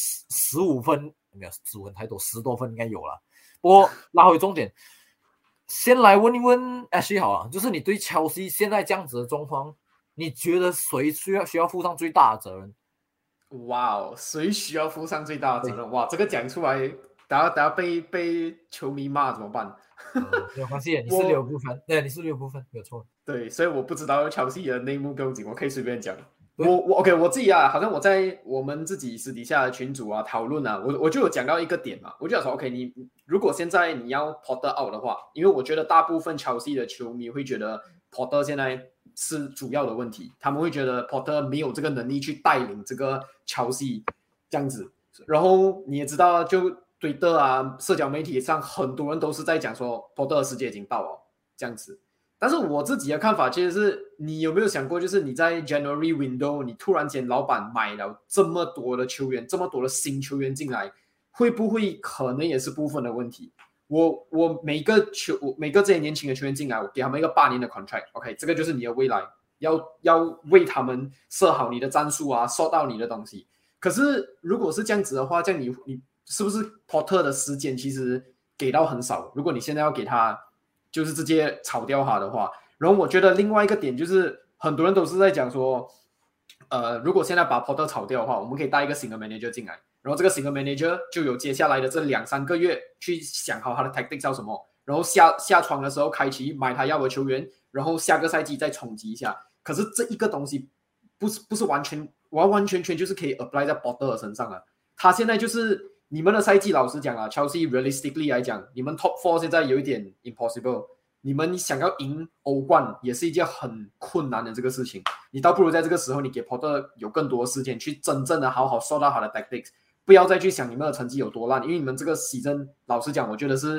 15分，没有15分太多，10多分应该有了。不过拉回重点，先来问一问 Ashley 好了，就是你对 Chelsea 现在这样子的状况，你觉得谁需要负上最大的责任？ 哇谁需要负上最大的责任？哇，这个讲出来，等下被球迷骂怎么办？ 没有关系，你是6部分，对，你是6部分，没有错。 对，所以我不知道Chelsea的内幕背景，我可以随便讲。我 OK， 我自己好像我在我们自己私底下的群组讨论我就有讲到一个点嘛，我就想说 OK， 你如果现在你要 Potter out 的话，因为我觉得大部分Chelsea的球迷会觉得 Potter 现在是主要的问题，他们会觉得 Potter 没有这个能力去带领这个Chelsea这样子，然后你也知道就。Twitter 社交媒体上很多人都是在讲说 Potter 的时间已经到了这样子，但是我自己的看法其实是，你有没有想过，就是你在 January window 你突然间老板买了这么多的球员，这么多的新球员进来，会不会可能也是部分的问题？我每个这些年轻的球员进来，我给他们一个8年的 contract， OK， 这个就是你的未来，要为他们设好你的战术收到你的东西。可是如果是这样子的话，这样你是不是 Potter 的时间其实给到很少？如果你现在要给他，就是直接炒掉他的话，然后我觉得另外一个点就是，很多人都是在讲说，如果现在把 Potter 炒掉的话，我们可以带一个新的 manager 进来，然后这个新的 manager 就有接下来的这2-3个月去想好他的 tactics 要什么，然后下窗的时候开启买他要的球员，然后下个赛季再冲击一下。可是这一个东西不是完全就是可以 apply 在 Potter 的身上啊，他现在就是。你们的赛季老实讲Chelsea realistically 来讲，你们 top 4现在有一点 impossible， 你们想要赢欧冠也是一件很困难的这个事情，你倒不如在这个时候你给 Potter 有更多的时间去真正的好好收到他的 tactics， 不要再去想你们的成绩有多烂，因为你们这个season老实讲我觉得是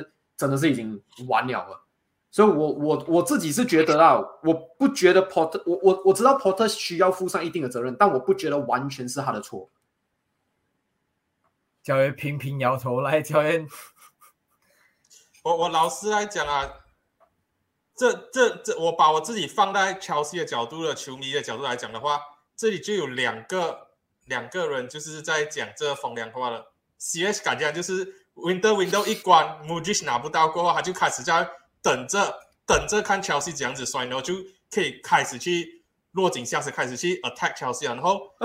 真的是已经完了。所以我自己是觉得啦，我不觉得 Porter， 我知道 Porter 需要负上一定的责任，但我不觉得完全是他的错。 教练频频摇头，来教练。 我老实来讲啊，这我把我自己放在Chelsea的角度的球迷的角度来讲的话，这里就有两个人就是在讲这风凉话了。CS 感觉就是 window 一关 ，Mudryk 拿不到过后，他就开始在等着看 Chelsea 这样子摔，然后就可以开始去落井下石，开始去 attack Chelsea 然后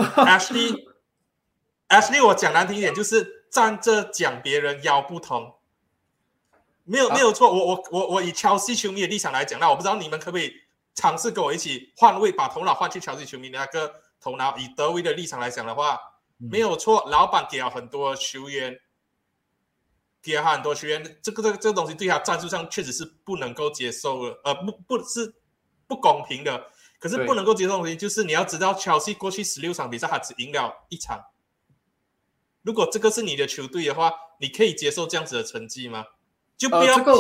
Ashley 我讲难听一点，就是站着讲别人腰不疼。没有错，我以Chelsea球迷的立场来讲，那我不知道你们可不可以尝试跟我一起换位，把头脑换去Chelsea球迷的那个头脑。以德威的立场来讲的话，没有错，老板给了很多球员，这个东西对他战术上确实是不能够接受的，不是不公平的。可是不能够接受的东西就是你要知道Chelsea过去16场比赛，他只赢了1场。如果这个是你的球队的话，你可以接受这样子的成绩吗？就不要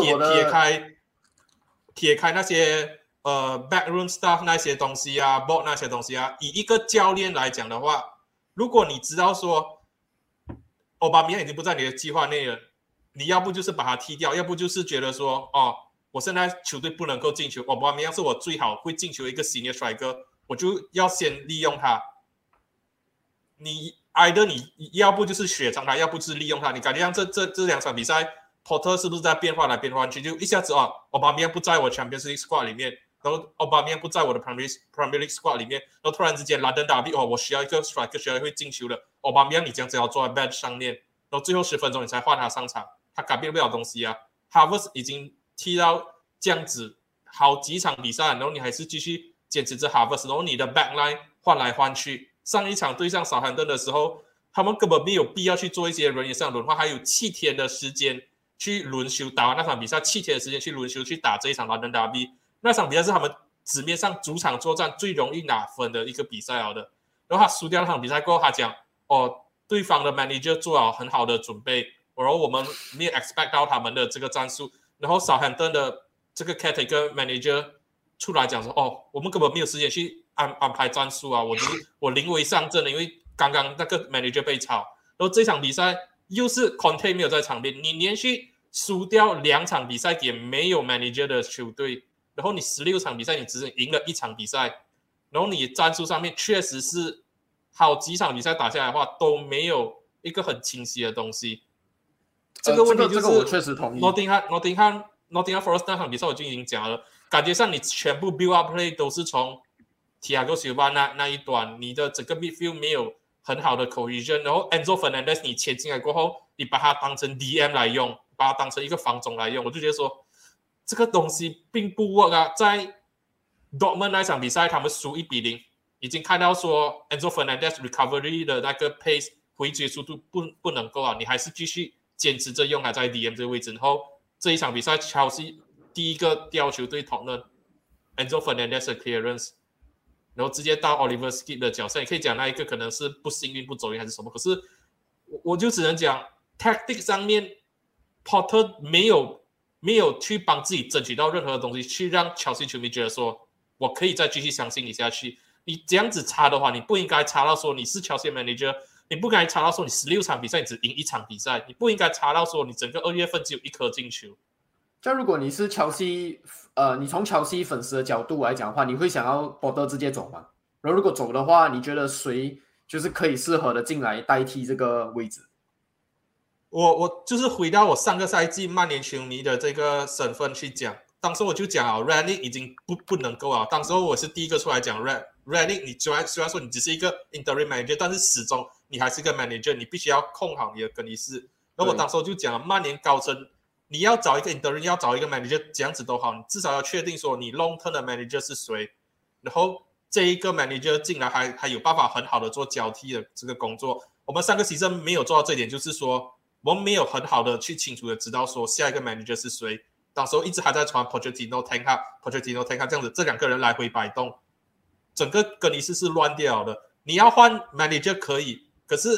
撇开那些backroom stuff 那些东西啊 ，board 那些东西啊。以一个教练来讲的话，如果你知道说奥巴梅扬已经不在你的计划内了，你要不就是把他踢掉，要不就是觉得说我现在球队不能够进球，奥巴梅扬是我最好会进球的一个 senior striker， 我就要先利用他。你要不就是雪藏他，要不就是利用他。你感觉像这2场比赛。Porter 是不是在变化来变化去？就一下子奥巴梅扬不在我 Champions League squad 里面，然后奥巴梅扬不在我的 Premier League squad 里面，然后突然之间London Derby 我需要一个 striker， 需要会进球的，奥巴梅扬你这样子要坐在 bench 上面，然后最后10分钟你才换他上场，他改变不了东西啊。Havertz 已经踢到这样子好几场比赛，然后你还是继续坚持着 Havertz， 然后你的 backline 换来换去。上一场对上Southampton的时候，他们根本没有必要去做一些人员上轮换，还有7天的时间。去轮休，打完那场比赛7天的时间去轮休，去打这一场 London Derby。那场比赛是他们纸面上主场作战最容易拿分的一个比赛的。然后他输掉那场比赛过后，他讲对方的 manager 做好很好的准备，然后我们没有 expect 到他们的这个战术。然后 Southampton 的这个 caretaker manager 出来讲说，我们根本没有时间去安排战术啊，我临危上阵了，因为刚刚那个 manager 被炒。然后这场比赛。又是 Conte 没有在场边，你连续输掉2场比赛给没有 manager 的球队，然后你16场比赛你只赢了1场比赛，然后你战术上面确实是好几场比赛打下来的话都没有一个很清晰的东西。这个问题就是我确实同意。 Nottingham Forest 那场比赛我就已经讲了，感觉上你全部 build up play 都是从 Thiago Silva 那一端，你的整个 midfield 没有很好的 cohesion， 然后 Enzo Fernandez 你切进来过后，你把它当成 DM 来用，把它当成一个防中来用，我就觉得说这个东西并不 work 啊。在 Dortmund 那场比赛，他们输1-0，已经看到说 Enzo Fernandez recovery 的那个 pace 回追速度不能够啊，你还是继续坚持着用他在 DM 这个位置。然后这一场比赛 Chelsea 第一个吊球对 Tottenham Enzo Fernandez 的 clearance。然后直接到 Oliver Skip 的角色，你可以讲那一个可能是不幸运、不走运还是什么，可是我就只能讲 tactic 上面 Porter 没有去帮自己争取到任何的东西，去让 Chelsea 球迷觉得说我可以再继续相信你下去。你这样子差的话，你不应该差到说你是 Chelsea manager， 你不应该差到说你16场比赛你只赢1场比赛，你不应该差到说你整个2月份只有1颗进球。 像如果你是Chelsea，你从Chelsea粉丝的角度来讲的话，你会想要Porter直接走吗？然后如果走的话，你觉得谁就是可以适合的进来代替这个位置？ 我就是回到我上个赛季曼联球迷的这个身份去讲，当时我就讲啊 ，Ranić 已经不能够啊。当时我是第一个出来讲 Ranić， 你虽然说你只是一个 interim manager， 但是始终你还是个 manager， 你必须要控好你的更衣室。然后我当时我就讲曼联高层。你要找一个 interim， 要找一个 manager， 这样子都好，你至少要确定说你 long term 的 manager 是谁，然后这一个 manager 进来还有办法很好的做交替的这个工作。我们3个season没有做到这一点，就是说我们没有很好的去清楚的知道说下一个 manager 是谁。当时候一直还在传 Pochettino、Ten Hag 这样子，这2个人来回摆动，整个更衣室是乱掉的。你要换 manager 可以，可是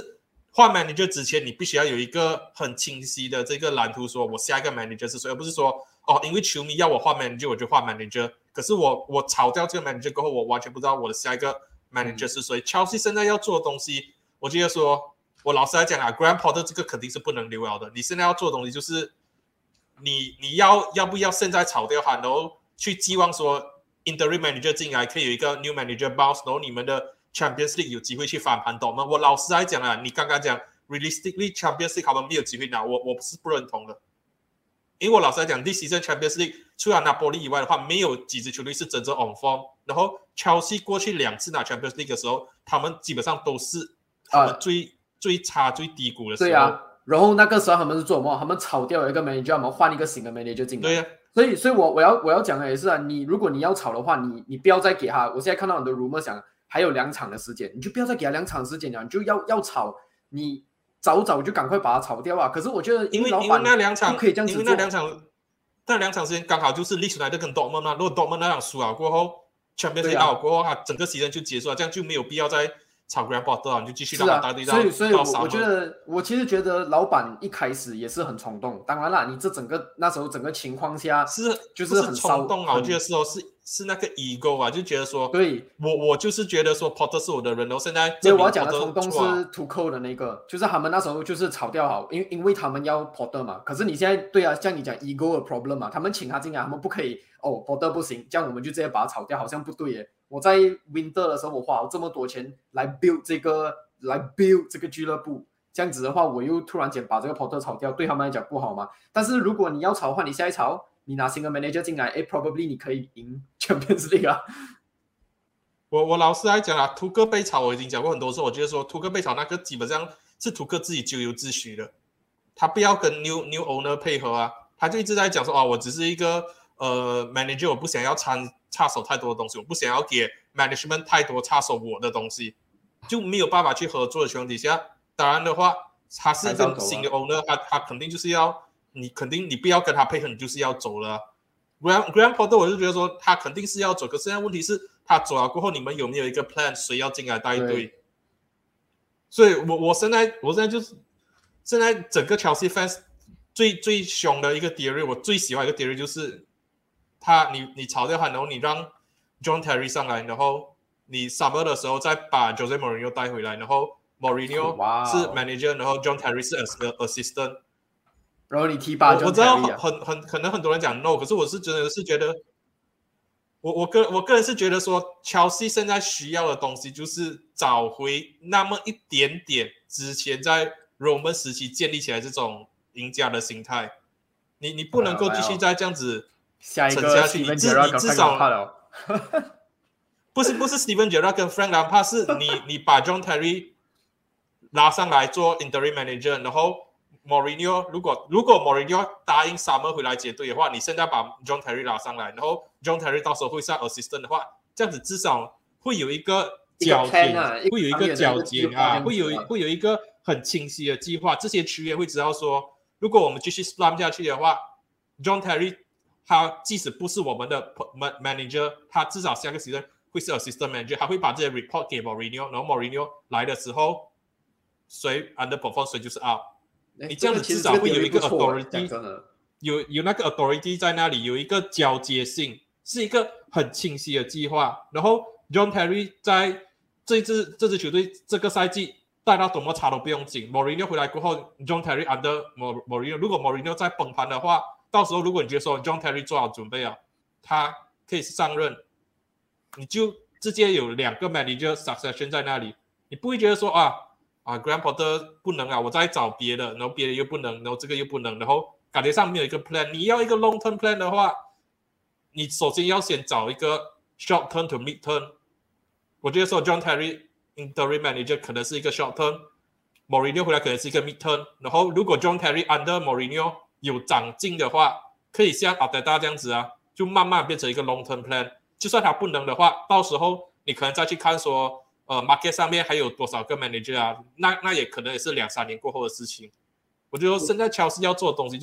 换 manager 之前，你必须要有一个很清晰的这个蓝图，说我下一个 manager 是谁，而不是说因为球迷要我换 manager 我就换 manager， 可是我炒掉这个 manager 过后，我完全不知道我的下一个 manager 是谁。Chelsea 现在要做的东西，我觉得说，我老实来讲啊 ，Graham Potter 这个肯定是不能留了的。你现在要做的东西就是，你要不要现在炒掉他，然后去寄望说 interim manager 进来可以有一个 new manager bounce， 然后你们的 Champions League 有机会去翻盘懂吗？我老实来讲啊，你刚刚讲 realistically Champions League 他们没有机会拿，我是不认同的。因为我老实来讲 ，this season Champions League 除了拿波利以外的话，没有几支球队是真正 on form。然后 Chelsea 过去2次拿 Champions League 的时候，他们基本上都是他们最差、最低谷的时候。 对啊，然后那个时候他们是做什么？他们炒掉一个 manager， 他们换一个新的 manager 进来。 对啊。 所以我要讲的也是啊，如果你要炒的话，你不要再给他。我现在看到很多 rumor 讲还有2场的时间，你就不要再给他2场时间了，你就要炒，你早就赶快把它炒掉啊！可是我觉得因为老板那2场可以这样子做， 因为那两场时间刚好就是利兹united跟 Dortmund 嘛，如果 Dortmund 那场输了过后 ，Champions League out过后，他整个season就结束了，这样就没有必要再炒 Graham Potter， 你就继续让他带队到。 所以我其实觉得老板一开始也是很冲动。当然啦，你那时候整个情况下就是很冲动啊！我觉得是那个 ego 啊，就觉得说， 对， 我就是觉得说 Potter 是我的人，然后现在所以我要讲的冲动是 Tuchel 的那个，就是他们那时候就是炒掉好，因为他们要 Potter 嘛。可是你现在对啊，像你讲 ego 的 problem 嘛，他们请他进来，他们不可以Potter 不行，这样我们就直接把他炒掉，好像不对耶。我在 Winter 的时候，我花了这么多钱来 build 这个俱乐部，这样子的话，我又突然间把这个 Potter 炒掉，对他们来讲不好吗？但是如果你要炒的话，你现在炒，你拿新的 manager 进来，probably 你可以赢 Champions League 啊。 我老实来讲啊，图克被炒我已经讲过很多次，我觉得说图克被炒那个基本上是图克自己咎由自取的，他不要跟 new owner 配合啊，他就一直在讲说我只是一个manager， 我不想要插手太多的东西，我不想要给 management 太多插手我的东西，就没有办法去合作的情况底下，当然的话，他是一个新的 owner， 他肯定就是要你不要跟他配合，你就是要走了。Graham Potter 我就觉得说他肯定是要走，可是现在问题是他走了过后，你们有没有一个 plan， 谁要进来带队？所以我现在就是现在整个 Chelsea fans 最凶的一个 theory， 我最喜欢一个 theory 就是你炒掉他，然后你让 John Terry 上来，然后你 Summer 的时候再把 Jose Mourinho 带回来，然后 Mourinho 是 manager， 然后 John Terry 是 assistant。 然后你提拔 John Terry 我知道可能很多人讲 no， 可是我是真的是觉得，我个人是觉得说 ，Chelsea 现在需要的东西就是找回那么一点点之前在 Roman 时期建立起来这种赢家的心态。你不能够继续再这样子沉下去，你至少不是 Steven Gerrard 跟 Frank Lampard， 是你把 John Terry 拉上来做 interim manager， 然后 Mourinho 如果 Mourinho 答应 Summer 回来接队的话，你现在把 John Terry 拉上来，然后 John Terry 到时候会上 assistant 的话，这样子至少会有一个交接，会有一个交接啊，会有一个很清晰的计划。这些球员会知道说，如果我们继续 slam 下去的话 ，John Terry 他即使不是我们的 manager， 他至少下个 season 会是 assistant manager， 他会把这些 report 给 Mourinho， 然后 Mourinho 来的时候，谁 underperform 谁就是 out。你这样子至少会有一个 authority， 有那个 authority 在那里，有一个交接性，是一个很清晰的计划。然后 John Terry 在这支球队这个赛季带到多么差都不用紧。Mourinho 回来过后 ，John Terry under Mourinho， 如果 Mourinho 再崩盘的话，到时候如果你觉得说 John Terry 做好准备了，他可以上任，你就直接有2个 manager succession 在那里，你不会觉得说Graham Potter 不能啊，我再找别的，然后别的又不能，然后这个又不能，然后感觉上没有一个 plan。你要一个 long term plan 的话，你首先要先找一个 short term to mid term。我觉得说 John Terry interim manager 可能是一个 short term，Mourinho 回来可能是一个 mid term。然后如果 John Terry under Mourinho 有长进的话，可以像Arteta这样子啊，就慢慢变成一个 long term plan。就算他不能的话，到时候你可能再去看说。market 上面还有多少个 manager 啊？那也可能也是2-3年过后的事情。我觉得现在 Chelsea 要做的东西就是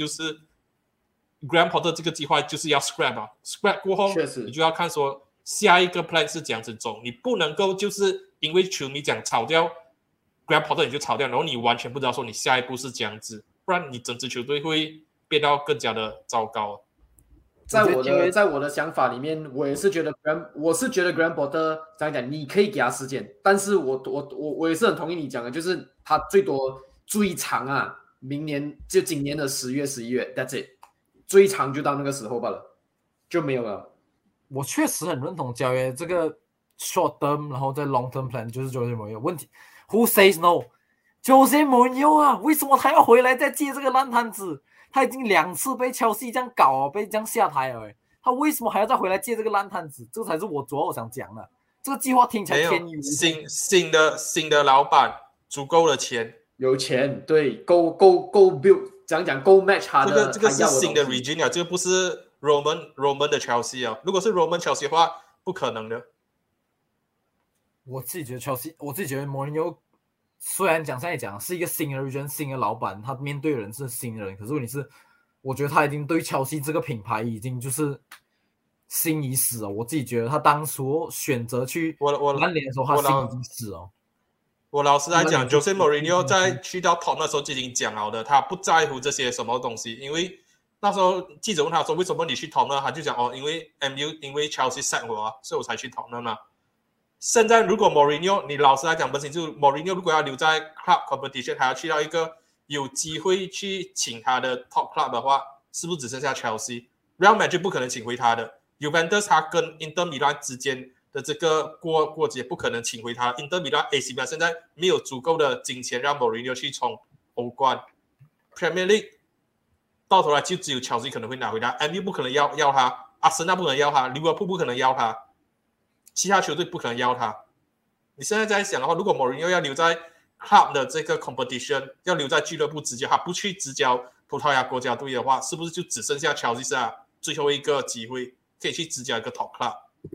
Graham Potter 这个计划就是要 scrap 过后，你就要看说下一个 plan 是怎样子走。你不能够就是因为球迷讲炒掉 Graham Potter 你就炒掉，然后你完全不知道说你下一步是这样子，不然你整支球队会变到更加的糟糕。 在我的想法里面，我是觉得 Graham Potter 这样讲，你可以给他时间，但是我也是很同意你讲的，就是他最多最长啊，明年就今年的10月11月 ，That's it， 最长就到那个时候罢了，就没有了。 我确实很认同交易这个 short term， 然后在 long term plan 就是 Jose Mourinho 问题。Who says no？ Jose Mourinho 啊，为什么他要回来再接这个烂摊子？他已经2次被切尔西这样搞，被这样下台了，他为什么还要再回来接这个烂摊子？这才是我主要想讲的。这个计划听起来天衣无缝。 新的老板足够的钱， 有钱，对，够 build， 讲够 match 他的。 这个是新的 Regina， 这个不是 Roman 的 Chelsea 啊。如果是 Roman Chelsea 的话，不可能的。 我自己觉得 Chelsea， 我自己觉得 Mourinho 虽然现在讲是一个新的人、新的老板，他面对的人是新人，可是问题是，我觉得他已经对Chelsea这个品牌已经就是心已死了。我自己觉得他当初选择去曼联的时候，他心已经死了。 我老实来讲 ，Jose Mourinho 在去到 Tottenham 的时候就已经讲好的，他不在乎这些什么东西，因为那时候记者问他说为什么你去 Tottenham， 他就讲因为 MU 因为 Chelsea 散我，所以我才去 Tottenham 嘛。现在如果 Mourinho， 你老实来讲，本身就 Mourinho 如果要留在 club competition， 还要去到一个有机会去请他的 top club 的话，是不是只剩下 Chelsea？Real Madrid 不可能请回他的 ，Juventus 他跟 Inter Milan 之间的这个过节不可能请回他 ，Inter Milan、AC Milan 现在没有足够的金钱让 Mourinho 去冲欧冠 ，Premier League 到头来就只有 Chelsea 可能会拿回他 ，MU 不可能要他，阿森纳不可能要他，利物浦不可能要他。其他球队不可能要他。你现在在想的话，如果 Mourinho 要留在 club 的这个 competition， 要留在俱乐部执教，他不去执教葡萄牙国家队的话，是不是就只剩下乔治亚最后一个机会可以去执教一个 top club？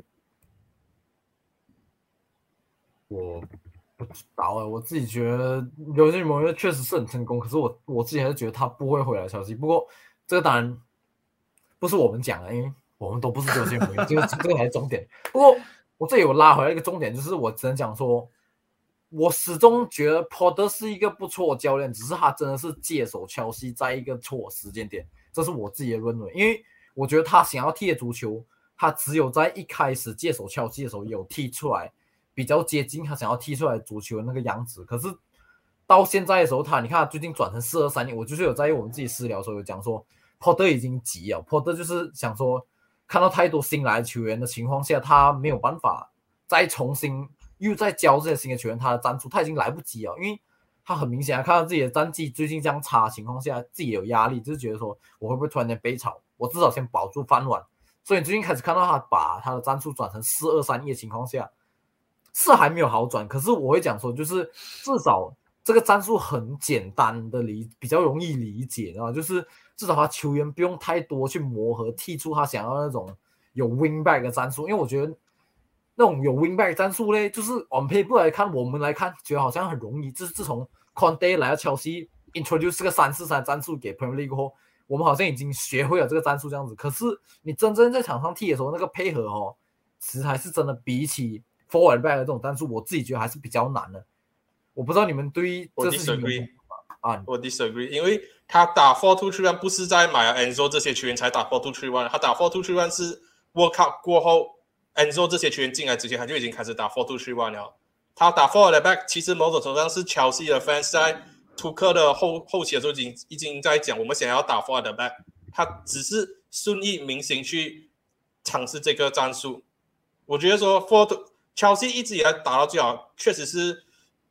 我不知道我自己觉得有些Mourinho确实是很成功，可是我自己还是觉得他不会回来乔治。不过这个当然不是我们讲的，因为我们都不是有些Mourinho，这个才是重点。不过我这里有拉回来一个重点，就是我只能讲说，我始终觉得 Potter 是一个不错的教练，只是他真的是接手切尔西在一个错时间点，这是我自己的认为。因为我觉得他想要踢的足球，他只有在一开始接手切尔西的时候有踢出来，比较接近他想要踢出来足球的那个样子。可是到现在的时候，你看他最近转成4-2-3-1，我就是有在我们自己私聊的时候有讲说 ，Potter 已经急了 ，Potter 就是想说。看到太多新来的球员的情况下，他没有办法再重新又再教这些新的球员他的战术，他已经来不及了，因为他很明显看到自己的战绩最近这样差的情况下，自己有压力，就是觉得说我会不会突然间被炒，我至少先保住饭碗。所以最近开始看到他把他的战术转成4-2-3-1的情况下，是还没有好转，可是我会讲说，就是至少这个战术很简单的比较容易理解，然后就是至少他球员不用太多去磨合，踢出他想要那种有 wing back 的战术。因为我觉得那种有 wing back 战术嘞，就是 on paper 来看，我们来看觉得好像很容易。自从 Conte 来到切尔西 introduce 这个3-4-3战术给 Premier League 后，我们好像已经学会了这个战术这样子。可是你真正在场上踢的时候，那个配合其实还是真的比起 forward back 的这种战术，我自己觉得还是比较难的。我不知道你们对于这事情有什么看法？ 我 disagree， 因为他打 4-2-3-1 不是在买了 Enzo 这些球员才打 4-2-3-1， 他打 4-2-3-1 是 World Cup 过后 Enzo 这些球员进来之前，他就已经开始打 4-2-3-1 了。他打 forward back， 其实某种程度上是Chelsea的 fans 在图克的后期的时候已经在讲，我们想要打 forward back， 他只是顺应民心去尝试这个战术。我觉得说 Chelsea 一直以来打到最好，确实是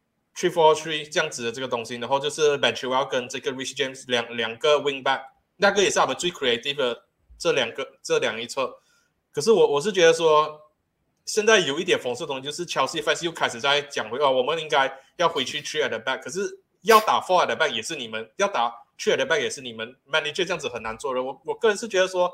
3-4-3 这样子的这个东西，然后就是 Ben Chilwell 跟这个 Rich James 两个 wing back， 那个也是他们最 creative 的这两一侧。可是我是觉得说，现在有一点讽刺的东西，就是 Chelsea fans 又开始在讲回我们应该要回去 3 at the back， 可是要打 4 at the back 也是你们，要打3 at the back 也是你们 manager 这样子很难做的。我个人是觉得说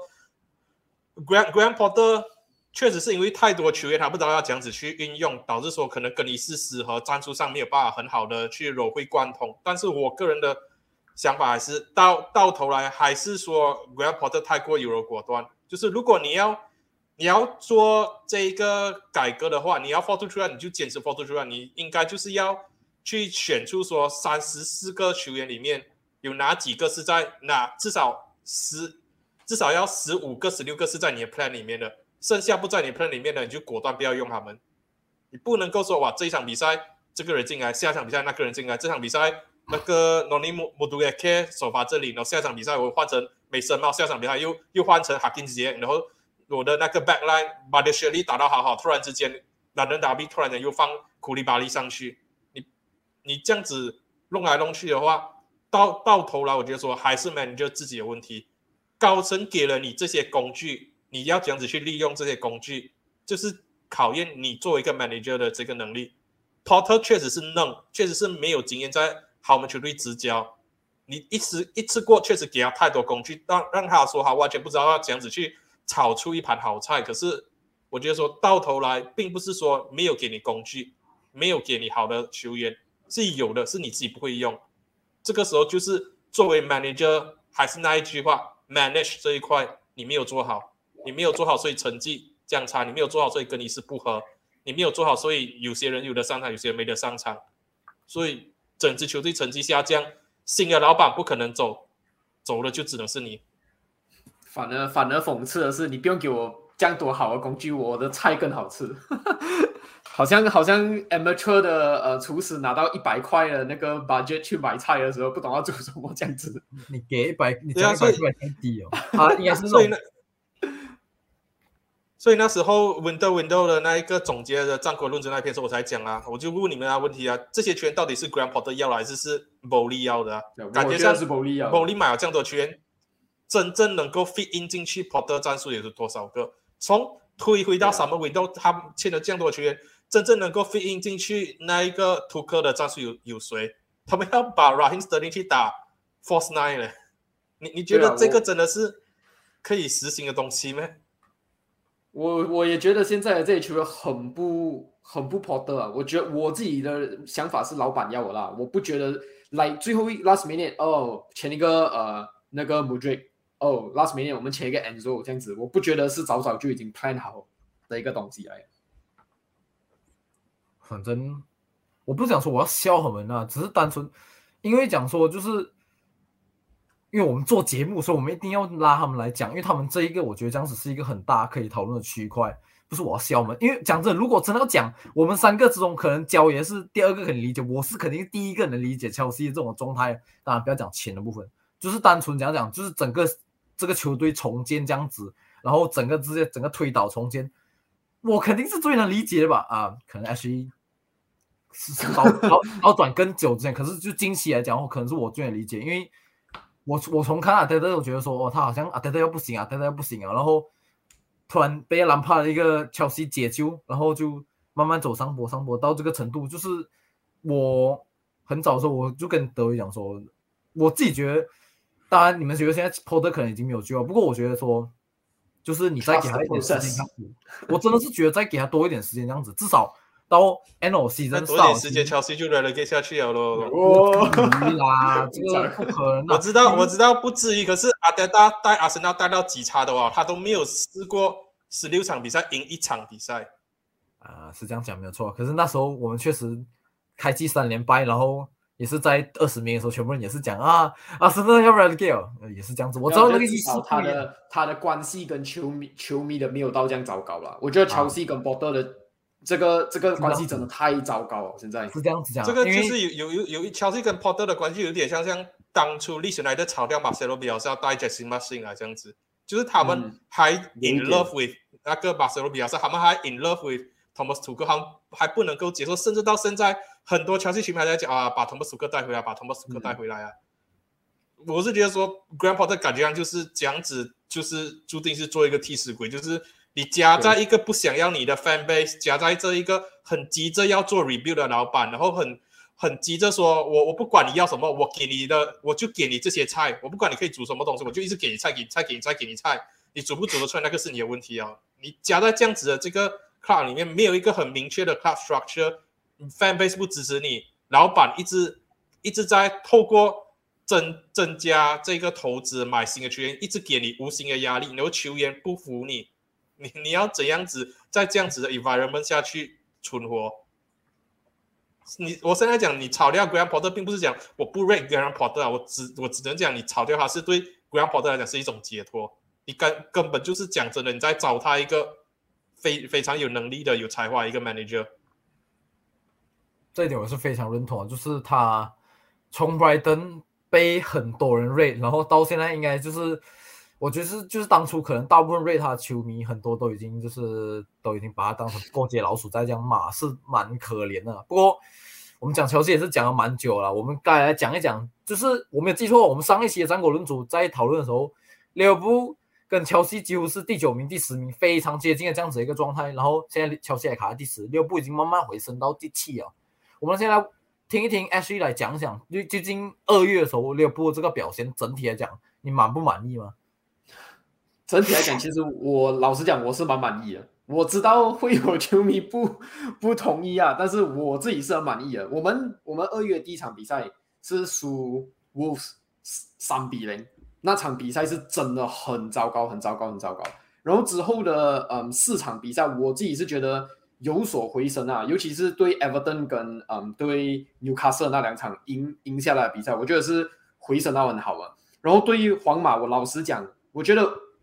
Graham Potter 确实是因为太多球员他不知道要这样子去运用，导致说可能更衣室适合战术上没有办法很好的去融会贯通。但是我个人的想法还是到头来还是说 Graham Potter 太过优柔果断，就是如果你要做这个改革的话，你要 4-2-3-1 你就坚持 4-2-3-1， 你应该就是要去选出说34个球员里面有哪几个是在至少要15个16个是在你的 plan 里面的，剩下不在你的 plan 里面的你就果断不要用他们。你不能够说哇这一场比赛这个人进来，下场比赛那个人进来，这场比赛那个 Noni Madueke 首发这里，然后下场比赛我换成梅森帽，下场比赛又换成 Hakim Ziyech， 然后我的那个 backline Badiashile 打到好，突然之间London Derby 突然间又放库利巴利上去，你这样子弄来弄去的话，到头来我觉得说还是 manager 自己的问题。高层给了你这些工具，你要这样子去利用这些工具，就是考验你作为一个 manager 的这个能力。Potter 确实是嫩，确实是没有经验在豪门球队执教，你一次过确实给他太多工具，让他说他完全不知道要这样子去炒出一盘好菜。可是我觉得说到头来并不是说没有给你工具，没有给你好的球员，是有的，是你自己不会用。这个时候就是作为 manager 还是那一句话， manage 这一块你没有做好，你没有做好，所以成绩这样差，你没有做好，所以更衣室不合，你没有做好，所以有些人有的上场，有些人没得上场，所以整支球队成绩下降，新的老板不可能走了就只能是你。 反而讽刺的是，你不用给我这样多好的工具，我的菜更好吃。好像 amateur 的厨师拿到100块的那个 budget 去买菜的时候，不懂要做什么这样子。 你给100，你讲100块太低哦。应该是所以那时候 Window 的那一个总结的战国论争那篇时候，我才讲啊，我就问你们啊问题啊，这些球员到底是 Graham Potter 要的还是 Bowley 要的啊？感觉像是 Bowley 买了这样多球员，真正能够 fit in 进去 Potter 战术也是多少个？从推回到 Summer Window， 他签了这样多球员，真正能够 fit in 进去那一个图克的战术有谁？他们要把 Raheem Sterling 去打 False Nine 了，你觉得这个真的是可以实行的东西吗？ 我也觉得现在的这些球员很不 Potter 啊。我觉得我自己的想法是老板要我啦，我不觉得来最后last minute 签一个那个 Mudryk last minute 我们签一个 Enzo 这样子，我不觉得是早就已经 plan 好的一个东西来。 反正我不想说我要笑他们啊，只是单纯因为讲说就是因为我们做节目，所以我们一定要拉他们来讲，因为他们这一个我觉得这样子是一个很大可以讨论的区块，不是我要笑他们。因为讲真的，如果真的要讲，我们3个之中可能焦也是第2个可以理解，我是肯定第1个能理解切尔西这种状态。当然不要讲钱的部分，就是单纯讲就是整个这个球队重建这样子，然后整个推倒重建，我肯定是最能理解的吧。可能 actually 是倒转更久之前，可是就近期来讲，可能是我最能理解，因为我从看阿德德，我觉得说他好像阿德德又不行啊，然后突然被兰帕的一个切尔西解救，然后就慢慢走上坡到这个程度。就是我很早的时候我就跟德维讲说，我自己觉得，当然你们觉得现在 Potter 可能已经没有救了，不过我觉得说，就是你再给他一点时间，我真的是觉得再给他多一点时间这样子，至少到 NOC 真多一点时间，Chelsea 就 relegate 下去了咯。 啦，这个不可能。 我知道不至于，可是阿德达带阿森纳带到几差的话，他都没有试过16场比赛赢1场比赛。 是这样讲没有错。可是那时候我们确实开季3连败，然后也是在20名的时候，全部人也是讲阿森纳要 relegate， 也是这样子。我知道那个意思， 他的关系跟球迷的没有到这样糟糕了。我觉得 Chelsea 跟 Potter 的这个关系真的太糟糕了，现在是这样子讲。 这个就是有 Chelsea 跟 Potter 的关系有点像当初利兹来的炒掉马塞罗比亚是要带 Jesse Marsch 来这样子，就是他们还 in love with 那个马塞罗比亚，他们还 in love with Thomas Tuchel， 他们还不能够接受，甚至到现在很多Chelsea球迷还在讲把 Thomas Tuchel 带回来，把 Thomas Tuchel 带回来啊。我是觉得说 Graham Potter 感觉上就是这样子，就是注定是做一个替死鬼，就是你夹在一个不想要你的 fan base， 夹在这一个很急着要做 rebuild 的老板，然后很急着说我不管你要什么，我就给你这些菜，我不管你可以煮什么东西，我就一直给你菜，你煮不煮得出来那个是你的问题啊。你夹在这样子的这个 club 里面，没有一个很明确的 club structure， fan base 不支持你，老板一直在透过增加这个投资买新的球员，一直给你无形的压力，然后球员不服你要怎样子在这样子的 environment 下去存活？ 我现在讲你炒掉 Graham Potter， 并不是讲我不 rate Graham Potter 啊，我只能讲你炒掉他是对 Graham Potter 来讲是一种解脱。你根本就是讲真的，你在找他一个非常有能力的、有才华一个 manager。 这一点我是非常认同的，就是他从 Brighton 被很多人 rate， 然后到现在应该就是，我觉得就是当初可能大部分 rate 他的球迷很多都已经把他当成过街老鼠在这样骂，是蛮可怜的。不过我们讲球鞋也是讲了蛮久了，我们该来讲一讲，就是我没有记错，我们上一期的战果论组在讨论的时候，利物浦跟切尔西几乎是第9名、第10名，非常接近的这样子一个状态。然后现在切尔西还卡在第10，利物浦已经慢慢回升到第7了。我们现在听一听 Ashley 来讲讲，究竟2月的时候利物浦这个表现，整体来讲，你满不满意吗？ 整体来讲，其实我老实讲，我是蛮满意的。我知道会有球迷不同意啊，但是我自己是很满意的。我们2月第一场比赛是输 Wolves 3-0，那场比赛是真的很糟糕，很糟糕，很糟糕。然后之后的4场比赛，我自己是觉得有所回升啊，尤其是对 Everton 跟对 Newcastle 那2场赢下来的比赛，我觉得是回升到很好啊。然后对于皇马，我老实讲，我觉得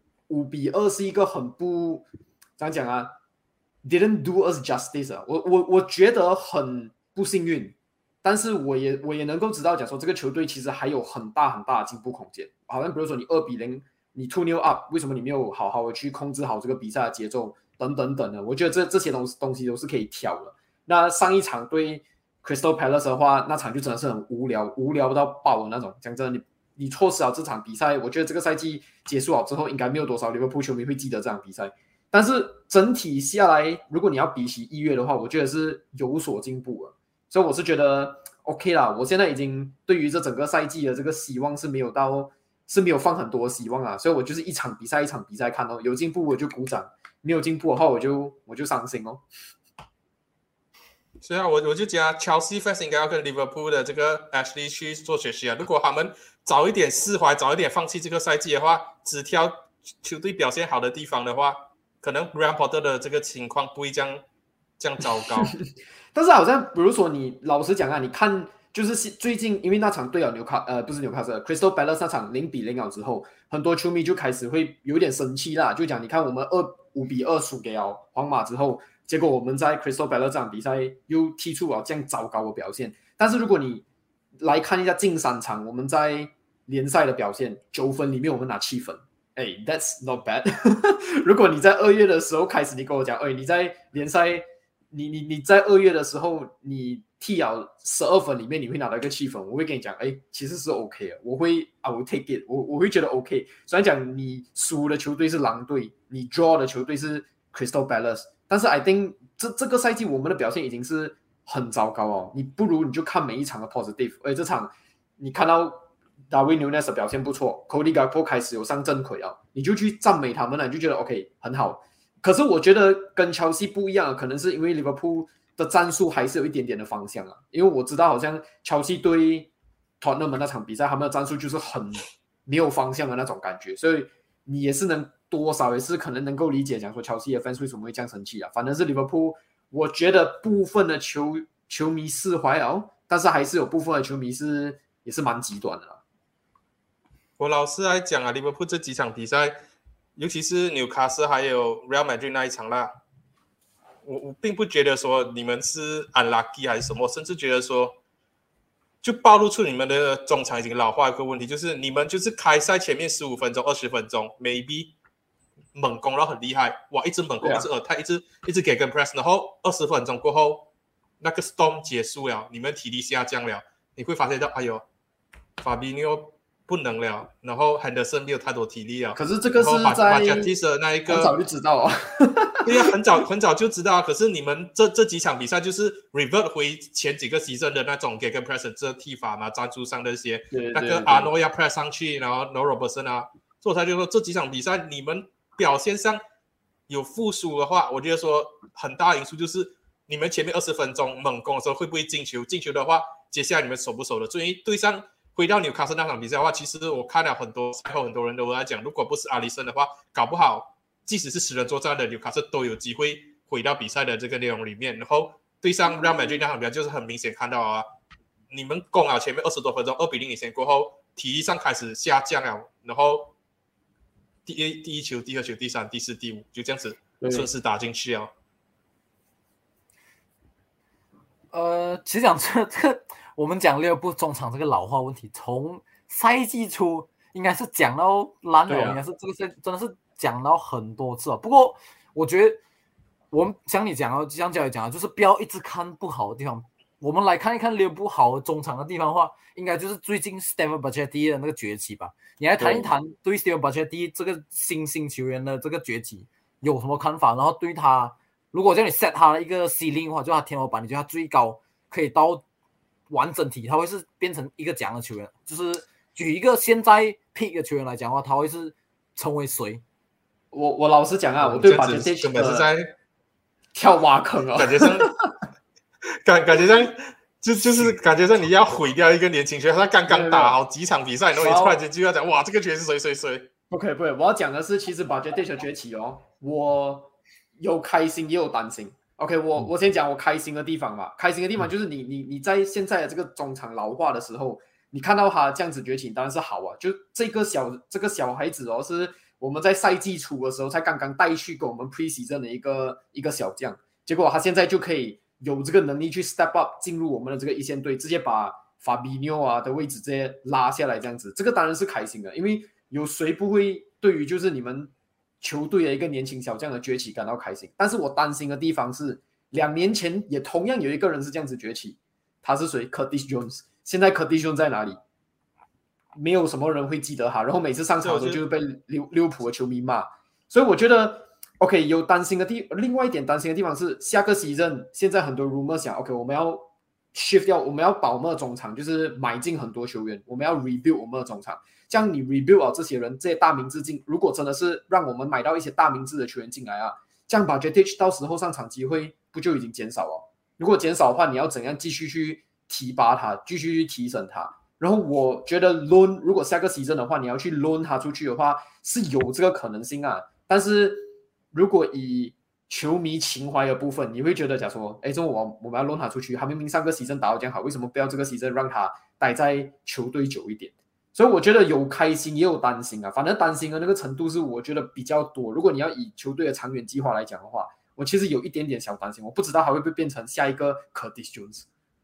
5-2是一个很不怎样讲啊 ，didn't do us justice 啊。我觉得很不幸运，但是我也能够知道，讲说这个球队其实还有很大很大的进步空间。好像比如说你2-0，你 2-0 up， 为什么你没有好好的去控制好这个比赛的节奏等等等的？我觉得这些东西都是可以挑的。那上一场对 Crystal Palace 的话，那场就真的是很无聊到爆的那种。讲真的，你错失了这场比赛，我觉得这个赛季结束了之后，应该没有多少利物浦球迷会记得这场比赛。但是整体下来，如果你要比起1月的话，我觉得是有所进步了。所以我是觉得 OK 啦。我现在已经对于这整个赛季的这个希望是没有放很多希望啦。所以我就是一场比赛一场比赛看哦，有进步我就鼓掌，没有进步的话我就伤心哦。 所以啊，我就讲 Chelsea fans 应该要跟 Liverpool 的这个 Ashley 去做学习啊。如果他们早一点释怀，早一点放弃这个赛季的话，只挑球队表现好的地方的话，可能 Graham Potter 的这个情况不会这样糟糕。 但是好像比如说你老实讲啊，你看就是最近因为那场对了不是Newcastle Crystal Palace 那场0-0了之后，很多球迷就开始会有点生气啦，就讲你看我们5-2输给了皇马之后，结果我们在 Crystal Palace 这场比赛又踢出了这样糟糕的表现。但是如果你来看一下近3场我们在联赛的表现，9分里面我们拿7分，that's not bad 如果你在2月的时候开始你跟我讲，你在联赛你在2月的时候你踢了12分里面你会拿到一个7分，我会跟你讲其实是 OK 的，I will take it， 我会觉得 OK。 虽然讲你输的球队是狼队，你 draw 的球队是 Crystal Palace， 但是 I think 这个赛季我们的表现已经是很糟糕哦。你不如你就看每一场的 positive， 这场你看到 Darwin Núñez 的表现不错， Cody Gakpo 开始有上正轨啊，你就去赞美他们了，你就觉得 OK 很好。可是我觉得跟切尔西不一样，可能是因为利物浦的战术还是有一点点的方向啊。因为我知道好像切尔西对 Tottenham 那场比赛，他们的战术就是很没有方向的那种感觉，所以你也是多少也是可能能够理解，讲说切尔西的 fans 为什么会这样生气啊。反正是利物浦，我觉得部分的球迷释怀了，但是还是有部分的球迷也是蛮极端的啦。 我老实来讲啊，利物浦这几场比赛，尤其是纽卡斯还有 Real Madrid 那一场啦，我并不觉得说你们是 unlucky 还是什么，甚至觉得说就暴露出你们的中场已经老化一个问题，就是你们就是开赛前面15分钟20分钟 maybe 猛攻然后很厉害，哇，一直猛攻一直attack一直给跟 press， 然后20分钟过后那个 storm 结束了，你们体力下降了，你会发现到哎呦 Fabinho 不能了，然后 Henderson 没有太多体力了。可是这个是在的那一个很早就知道啊对啊，很早就知道。可是你们这几场比赛就是 revert 回前几个season的那种 gegenpress 这踢法嘛，战术上的一些那个 Arnold 要 press 上去，然后 No Robertson 啊，所以他就说这几场比赛你们表现上有复苏的话，我觉得说很大因素就是你们前面20分钟猛攻的时候会不会进球？进球的话，接下来你们守不守的？所以对上回到纽卡斯那场比赛的话，其实我看了很多赛后很多人都在讲，如果不是阿里森的话，搞不好即使是10人作战的纽卡斯都有机会回到比赛的这个内容里面。然后对上 Real Madrid 那场比赛，就是很明显看到啊，你们攻了前面20多分钟2-0领先过后，体力上开始下降了，然后第一球、第二球、第三、第四、第五就这样子顺势打进去啊。 其实讲这个，我们讲利物浦中场这个老化问题，从赛季初应该是讲到烂了，应该是这个真的是讲到很多次了。不过我觉得我们像你讲到，像教练讲的，就是不要一直看不好的地方。我们来看一看利物浦好的中场的地方的话，应该就是最近 Steven Bajcetic 的那个崛起吧。你来谈一谈对 Steven Bajcetic 这个新兴球员的这个崛起有什么看法？然后对他，如果叫你 set 他的一个 ceiling 的话，就他天花板，你觉得他最高可以到完整体，他会是变成一个怎样的球员？就是举一个现在 pick 的球员来讲的话，他会是成为谁？ 我老实讲啊，我对 Bajcetic 根本是在跳挖坑啊， 感觉上就是感觉上你要毁掉一个年轻球员，他刚刚打好几场比赛，然后你突然间就要讲哇，这个球员是谁？ 不可以，我要讲的是，其实 Bajcetic 的崛起哦，我有开心也有担心。OK， 我先讲我开心的地方吧。开心的地方就是你在现在的这个中场老化的时候，你看到他这样子崛起，当然是好啊。就这个小孩子哦，是我们在赛季初的时候才刚刚带去给我们 preseason 的一个小将，结果他现在就可以有这个能力去 step up 进入我们的这个一线队，直接把 Fabinho 啊的位置直接拉下来，这样子，这个当然是开心的，因为有谁不会对于就是你们球队的一个年轻小将的崛起感到开心？但是我担心的地方是，2年前也同样有一个人是这样子崛起，他是谁 ？Curtis Jones。现在 Curtis Jones 在哪里？没有什么人会记得他，然后每次上场的时候就是被利物浦的球迷骂。所以我觉得 ，OK， 有担心的另外一点担心的地方是，下个 season 现在很多 rumor 想 ，OK， 我们要 shift 掉，我们要把我们的中场就是买进很多球员，我们要 rebuild 我们的中场。这样你 rebuild 了这些人，这些大名字进，如果真的是让我们买到一些大名字的球员进来啊，这样 Bajcetic 到时候上场机会不就已经减少了？如果减少的话，你要怎样继续去提拔他，继续去提升他？然后我觉得 loan 如果下个 season 的话，你要去 loan 他出去的话，是有这个可能性啊。但是如果以球迷情怀的部分，你会觉得假说，哎，这我们要 loan 他出去，他明明上个 season 打得这样好，为什么不要这个 season 让他待在球队久一点？所以我觉得有开心也有担心啊，反正担心的那个程度是我觉得比较多。如果你要以球队的长远计划来讲的话，我其实有一点点小担心，我不知道还会不会变成下一个 Curtis Jones。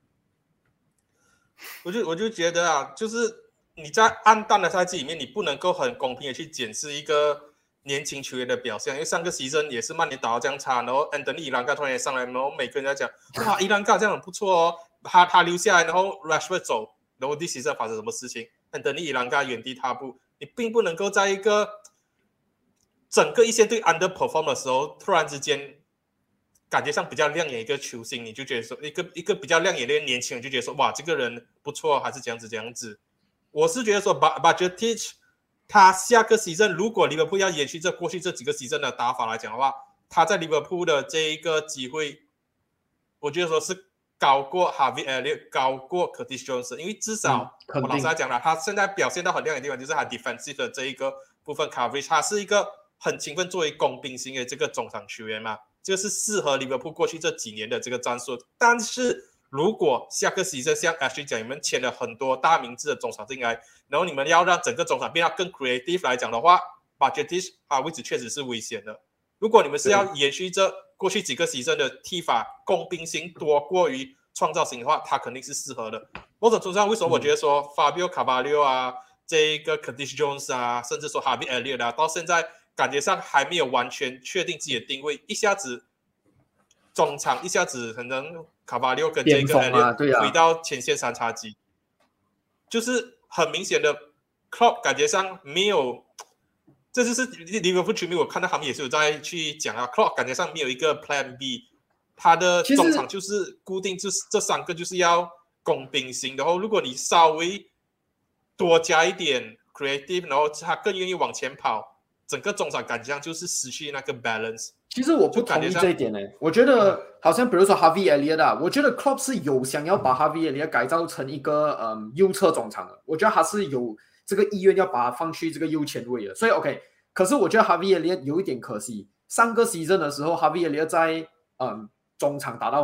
我就觉得啊，就是你在暗淡的赛季里面，你不能够很公平的去检视一个年轻球员的表现，因为上个 season 也是曼联打到这样差，然后 Anthony 伊兰卡突然也上来，然后每个人在讲哇伊兰卡这样很不错哦，他留下来，然后 Rashford 走，然后this season 发生什么事情 ？Anthony 伊兰卡原地踏步，你并不能够在一个整个一线队 underperform 的时候，突然之间感觉上比较亮眼一个球星，你就觉得说一个比较亮眼的年轻人就觉得说哇这个人不错，还是这样子。我是觉得说 Bajcetic 他下个 season 如果利物浦要延续这过去这几个 season 的打法来讲的话，他在利物浦的这一个机会，我觉得说是高过 Harvey Elliott 高过 Curtis Jones， 因为至少我老实来讲了，他现在表现到很亮眼的地方就是他 defensive 的这一个部分 coverage， 他是一个很勤奋作为工兵型的这个中场球员嘛，这个是适合利物浦过去这几年的这个战术。但是如果下个 season 像 Ashley 讲，你们签了很多大名字的中场进来，然后你们要让整个中场变得更 creative 来讲的话 ，Bajcetic 他位置确实是危险的。如果你们是要延续这过去几个 season 的踢法，工兵型多过于创造型的话，他肯定是适合的。某种程度上，为什么我觉得说 Fabio Carvalho 啊，这一个 Curtis Jones 啊，甚至说 Harvey Elliott 啊，到现在感觉上还没有完全确定自己的定位，一下子中场，一下子可能 Carvalho 跟这个 Elliott 回到前线三叉戟，就是很明显的 Klopp 感觉上没有。这就是利物浦球迷，我看到他们也是有在去讲啊 ，Klopp 感觉上没有一个 Plan B， 他的中场就是固定，就是这三个就是要工兵型，然后如果你稍微多加一点 creative， 然后他更愿意往前跑，整个中场感觉上就是失去那个 balance。 其实我不同意这一点呢，我觉得好像比如说 Harvey Elliott 啊，我觉得 Klopp 是有想要把 Harvey Elliott 改造成一个右侧中场的，我觉得他是有这个意愿要把它放去这个右前卫的，所以 OK。可是我觉得 Harvey Elliott 有一点可惜，上个 season 的时候 Harvey Elliott 在中场打到很好，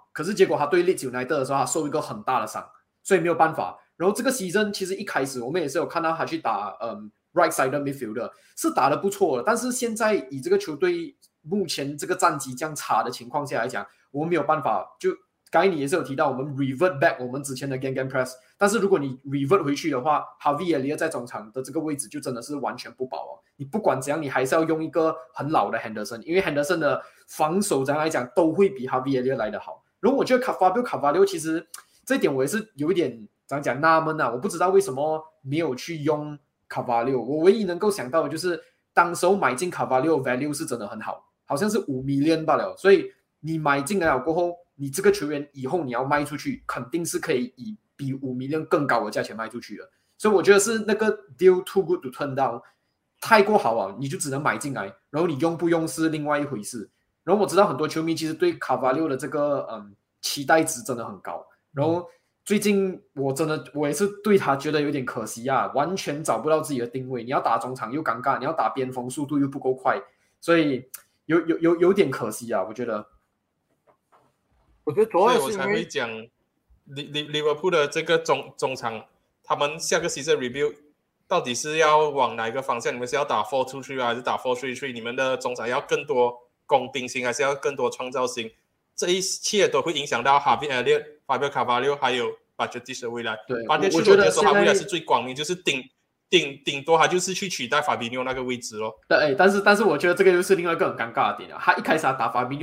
可是结果他对 Leeds United 的时候，他受一个很大的伤，所以没有办法。然后这个season其实一开始我们也是有看到他去打right side midfielder 是打得不错的，但是现在以这个球队目前这个战绩这样差的情况下来讲，我们没有办法。就刚才你也是有提到我们 revert back 我们之前的 gang press， 但是如果你 revert 回去的话 Harvey Elliott 在中场的这个位置就真的是完全不保哦。你不管怎样，你还是要用一个很老的 Henderson， 因为 Henderson 的防守这样来讲都会比 Harvey Elliott 来得好。然后我觉得 Carvalho 其实这一点我也是有一点怎样讲纳闷啊，我不知道为什么没有去用 Carvalho。我唯一能够想到的就是当时候买进 Carvalho value 是真的很好，好像是5 million 罢了，所以你买进来了过后，你这个球员以后你要卖出去，肯定是可以以比5 million 更高的价钱卖出去的。所以我觉得是那个 deal too good to turn down， 太过好啊，你就只能买进来，然后你用不用是另外一回事。然后我知道很多球迷其实对 Carvalho 的这个期待值真的很高，然后最近我也是对他觉得有点可惜啊，完全找不到自己的定位。你要打中场又尴尬，你要打边锋速度又不够快，所以有点可惜啊，我觉得。 我觉得主要是所以我才会讲利物浦的这个中场，他们下个 season review 到底是要往哪一个方向？你们是要打 4-2-3 还是打 4-3-3？ 你们的中场要更多攻兵性，还是要更多创造性？这一切都会影响到 Harvey Elliott、Fabio Carvalho 还有 Bajcetic 的未来。 对， 我觉得说他未来是最光明，就是顶多他就是去取代 Fabinho 那个位置咯。 对，但是我觉得这个又是另外一个很尴尬的点啊。他一开始他打 Fabinho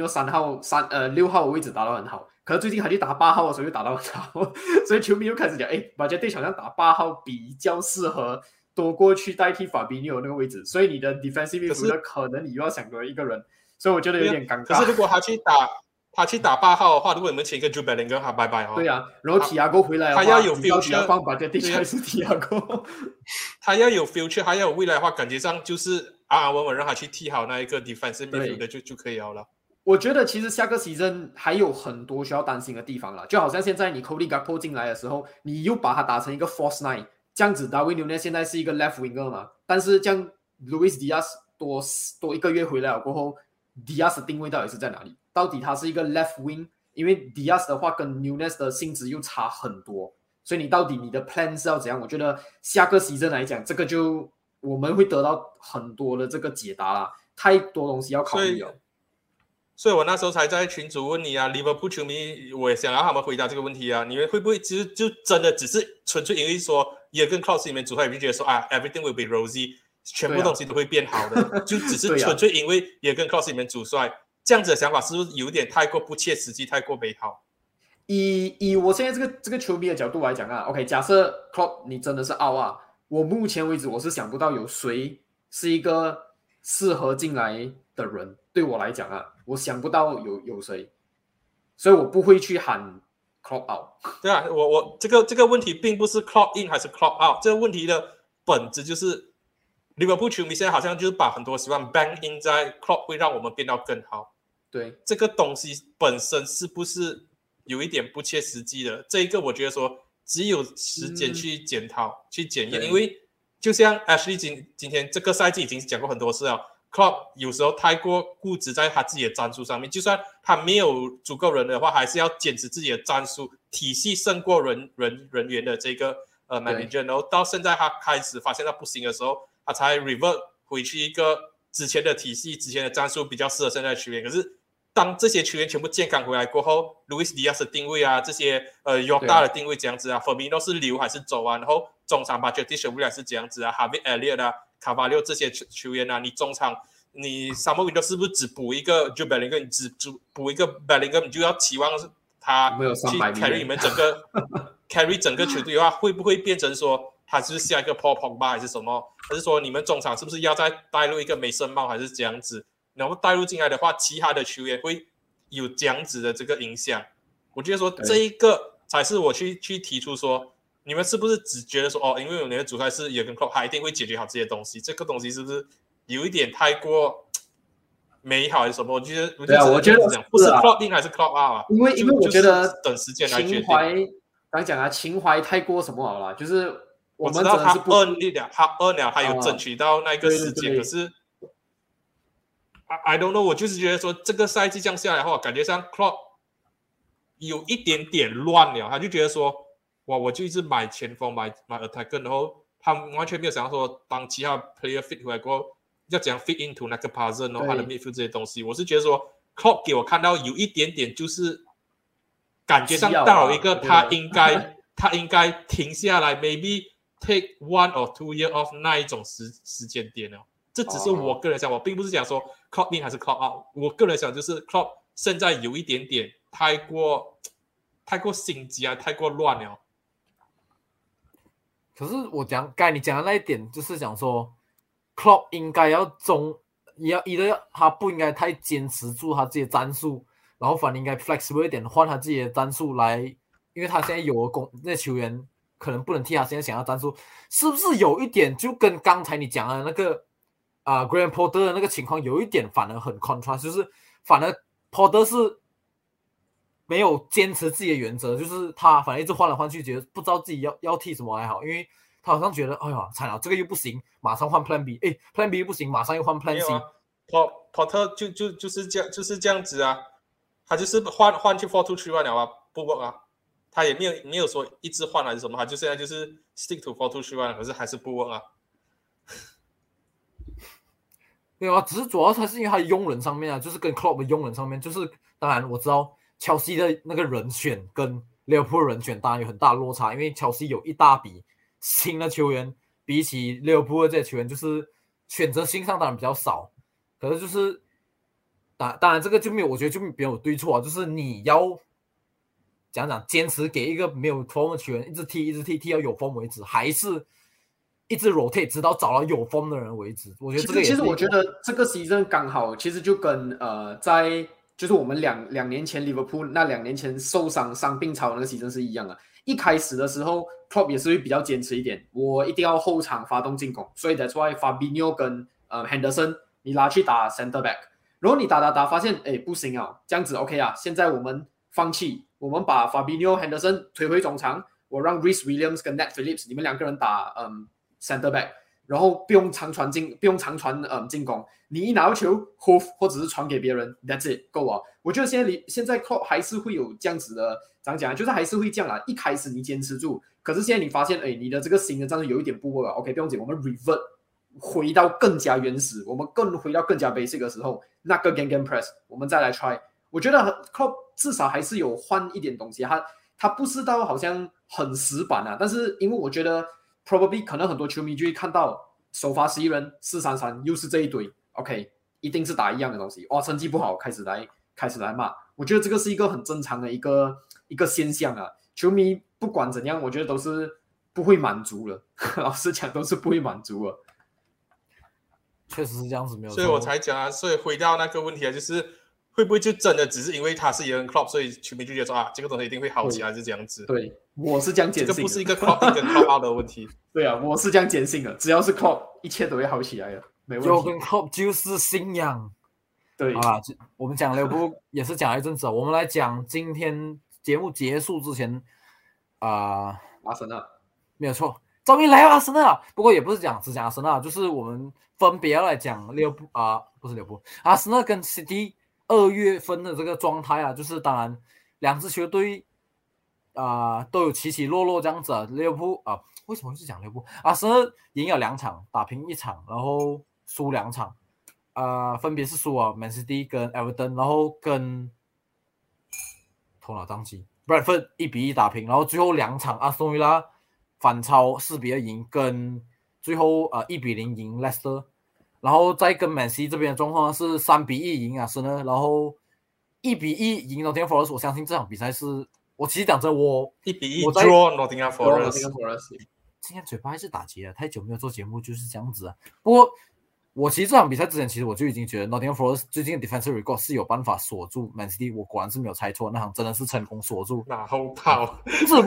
6号的位置打得很好，可是最近他去打8号的时候又打得很好，所以球迷又开始讲，Bajcetic 好像打8号比较适合多过去代替 Fabinho 那个位置，所以你的 defensive midfielder 可能你又要想多一个人，所以我觉得有点尴尬。 可是如果他去打8号的话，如果你们请一个 Jude Bellingham， 他拜拜哦。 对啊，然后 Thiago 回来的话， 他要有 future， 要放 Bajcetic 还是 Thiago？ 他要有 future， 他要有未来的话，感觉上就是安安稳稳让他去踢好那一个 defensive midfielder 就可以了。 我觉得其实下个 season 还有很多需要担心的地方啦，就好像现在你 Cody Gakpo 进来的时候，你又把他打成一个 false nine， 这样子 Darwin Núñez 现在是一个 left winger 嘛，但是这样 Luis Diaz 多一个月回来了过后 ，Diaz 的定位到底是在哪里？到底他是一个 left wing？ 因为 Diaz 的话跟 Núñez 的性质又差很多，所以你到底你的 plan 是要怎样？我觉得下个 season 来讲，这个就我们会得到很多的这个解答啦，太多东西要考虑了。 所以我那时候才在群组问你啊，利物浦球迷，我也想要他们回答这个问题啊。你们会不会其实就真的只是纯粹因为说Jurgen Klopp里面主帅就觉得说everything will be rosy， 全部东西都会变好的，就只是纯粹因为Jurgen Klopp里面主帅这样子的想法，是不是有点太过不切实际，太过美好？ 以我现在这个球迷的角度来讲啊 ，OK， 假设 Klopp 你真的是out啊，我目前为止我是想不到有谁是一个适合进来的人。对我来讲啊，我想不到有谁，所以我不会去喊 Klopp out。 对啊，我这个问题并不是 Klopp in 还是 Klopp out， 这个问题的本质就是利物浦球迷现在好像就是把很多希望 bank in 在 Klopp 会让我们变到更好。 对， 这个东西本身是不是有一点不切实际的？这一个我觉得说只有时间去检讨、去检验，因为就像 Ashley 今天这个赛季已经讲过很多次了。Klopp 有时候太过固执在他自己的战术上面，就算他没有足够人的话，还是要坚持自己的战术体系胜过人员的这个manager。然后到现在他开始发现他不行的时候，他才 revert 回去一个之前的体系、之前的战术比较适合现在的球员。可是当这些球员全部健康回来过后 ，Luis Diaz 的定位啊，这些Jota 的定位这样子啊 ，Firmino 是留还是走啊？然后中场Bajcetic未来是这样子啊 ，Harvey Elliott 啊。卡巴六这些球员啊，你中场你 Samuel Window 是不是只补一个 Jude Bellingham， 你只补一个 Bellingham， 你就要期望他去 carry 你们整个carry 整个球队的话，会不会变成说他是下一个 Paul Pogba 还是什么？还是说你们中场是不是要再带入一个梅森帽还是这样子？然后带入进来的话，其他的球员会有这样子的这个影响。我觉得说这一个才是我去提出说。你们是不是只觉得说因为我们的主帅是Jurgen Klopp，他一定会解决好这些东西？这个东西是不是有一点太过美好还是什么？我觉得不是 Klopp in 还是 Klopp out 啊？ 因为我觉得等时间来决定。 刚讲啊，情怀太过什么好了，就是我知道他earn了，他有争取到那个时间，可是 I don't know， 我就是觉得说这个赛季这样下来的话，感觉上 Klopp 有一点点乱了，他就觉得说，哇，我就一直买前锋买 attacker， 然后他完全没有想到说，当其他 player fit 回来过后，要怎样 fit into 那个 puzzle， 然后他的 midfield 这些东西，我是觉得说 Klopp 给我看到有一点点就是感觉上到了一个他应该停下来 ，maybe take 1 or 2 year off 那一种时间点了。这只是我个人想，我并不是讲说 Klopp in 还是 Klopp out， 我个人想就是 Klopp 现在有一点点太过心急啊，太过乱了。 可是我刚才你讲的那一点，就是讲说 Klopp 应该要他不应该太坚持住他自己的战术，然后反而应该 flexible 一点，换他自己的战术来，因为他现在有的那球员可能不能替他现在想要战术，是不是有一点就跟刚才你讲的那个Graham Potter 的那个情况有一点反而很 contrast， 就是反而 Potter 是没有坚持自己的原则，就是他反正一直换来换去，觉得不知道自己要踢什么还好，因为他好像觉得哎呀惨了，这个又不行，马上换 Plan B， Plan B 又不行，马上又换 Plan C。Potter 就是这样子啊，他就是换去 4-2-3-1 了啊，不 work 啊，他也没有说一直换还是什么，他就现在就是 stick to 4-2-3-1，可是还是不 work 啊。 没有啊，只是主要他是因为他的用人上面啊，就是跟 Klopp 的用人上面，就是当然我知道切尔西的那个人选跟利物浦人选当然有很大的落差，因为切尔西有一大笔新的球员，比起利物浦的这些球员，就是选择性上当然比较少，可是就是当然这个就没有，我觉得就没有对错啊，就是你要讲坚持给一个没有 form 的球员一直踢到有 form 为止，还是一直 rotate 直到找到有 form 的人为止。我觉得这个其实我觉得这个 season 刚好，其实就跟在就是我们两年前 Liverpool 那2年前受伤病潮那个 season 是一样的。一开始的时候 Klopp 也是会比较坚持一点，我一定要后场发动进攻，所以 that's why Fabinho 跟Henderson 你拉去打 center back， 然后你打发现不行啊，这样子 OK 啊，现在我们放弃，我们把 Fabinho Henderson 推回中场，我让 Reece Williams 跟 Nat Phillips 你们2个人打center back， 然后不用长传进攻，你一拿到球 hoof 或者是传给别人 that's it 够啊。我觉得现在 Klopp 还是会有这样子的，怎样讲就是还是会这样啦。一开始你坚持住，可是现在你发现你的这个新的战术有一点不 work 了 OK 不用紧，我们 revert 回到更加原始，我们回到更加 basic 的时候，那个 game press 我们再来 try。我觉得 Klopp 至少还是有换一点东西，他不是到好像很死板啊，但是因为我觉得 probably 可能很多球迷就会看到首发11人4-3-3又是这一堆 OK 一定是打一样的东西，哇成绩不好开始来骂，我觉得这个是一个很正常的一个现象啊。球迷不管怎样，我觉得都是不会满足了，老实讲都是不会满足了。 确实是这样子，没有错。 所以我才讲啊，所以回到那个问题啊，就是会不会就真的只是因为他是Jurgen Klopp，所以球迷就觉得说这个东西一定会好起来，是这样子。 对，我是这样坚信的。 这个不是一个 Klopp 跟 Klopp out 的问题。 对啊，我是这样坚信的，只要是 Klopp， 一切都会好起来的，没问题。 Jurgen Klopp 就是信仰。 对啊，我们讲利物浦也是讲了一阵子，我们来讲今天节目结束之前阿森纳没有错，终于来到阿森纳，不过也不是只讲阿森纳，就是我们分别要来讲利物浦不是利物浦，阿森纳跟 City 2月份的这个状态啊，就是当然两支球队都有起起落落这样子啊。利物浦为什么是讲利物浦？阿森纳赢了2场，打平1场，然后输2场。分别是输Man City 跟 Everton， 然后跟头脑宕机 Bradford 1-1打平，然后最后2场阿斯顿维拉反超4-2赢，跟最后1-0赢 Leicester， 然后再跟 Man City 这边的状况是3-1赢阿森纳，然后1-1赢 Nottingham Forest。我相信这场比赛是我其实讲真，我 1-1 draw Nottingham Forest。 今天嘴巴还是打结了，太久没有做节目就是这样子啊。不过我其实这场比赛之前，其实我就已经觉得 Nottingham Forest 最近的 defensive record 是有办法锁住 Man City， 我果然是没有猜错，那场真的是成功锁住。 马后炮？ 不是，